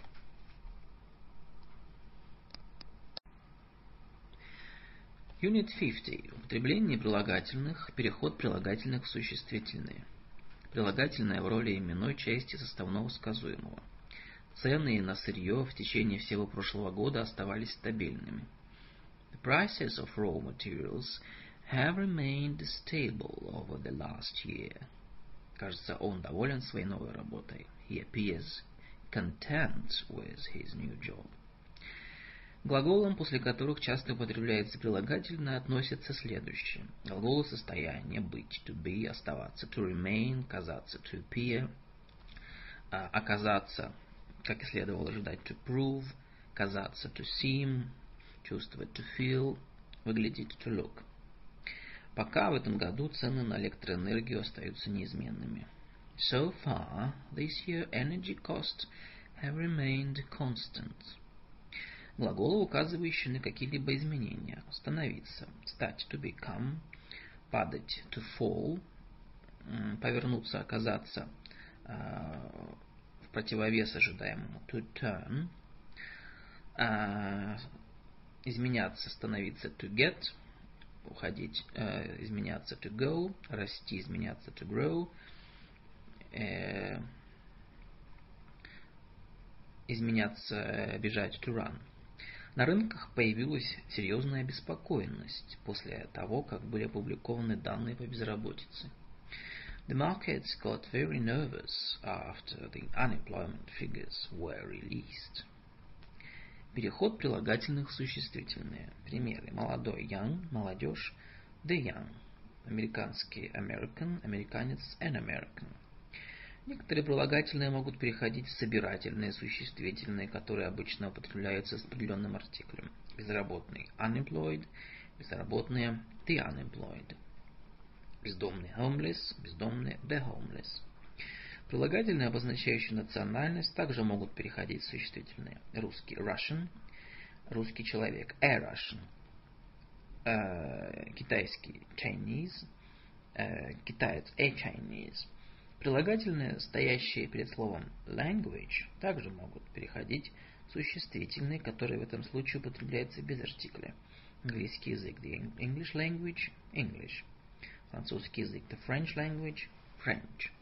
Unit пятьдесят. Употребление прилагательных, переход прилагательных в существительные. Прилагательное в роли именной части составного сказуемого. Цены на сырье в течение всего прошлого года оставались стабильными. The prices of raw materials have remained stable over the last year. Кажется, он доволен своей новой работой. He appears content with his new job. Глаголам, после которых часто употребляется прилагательное, относятся следующие. Глаголы состояния быть, to be, оставаться, to remain, казаться, to appear, оказаться, как и следовало ожидать, to prove, казаться, to seem, чувствовать, to feel, выглядеть, to look. Пока в этом году цены на электроэнергию остаются неизменными. So far, this year energy costs have remained constant. Глаголы, указывающие на какие-либо изменения. Становиться, стать, to become, падать, to fall, повернуться, оказаться в противовес ожидаемому, to turn, изменяться, становиться, to get, уходить, изменяться, to go, расти, изменяться, to grow, изменяться, бежать, to run. На рынках появилась серьезная обеспокоенность после того, как были опубликованы данные по безработице. The markets got very nervous after the unemployment figures were released. Переход прилагательных в существительные. Примеры. Молодой, young, молодежь, the young. Американский, American, американец, an American. Некоторые прилагательные могут переходить в собирательные существительные, которые обычно употребляются с определенным артиклем. Безработный unemployed, безработные the unemployed. Бездомный homeless, бездомные the homeless. Прилагательные, обозначающие национальность, также могут переходить в существительные. Русский Russian, русский человек a Russian, э, китайский Chinese, э, китаец a Chinese. Прилагательные, стоящие перед словом language, также могут переходить в существительные, которые в этом случае употребляются без артикля. Английский язык the English language, English. Французский язык the French language, French.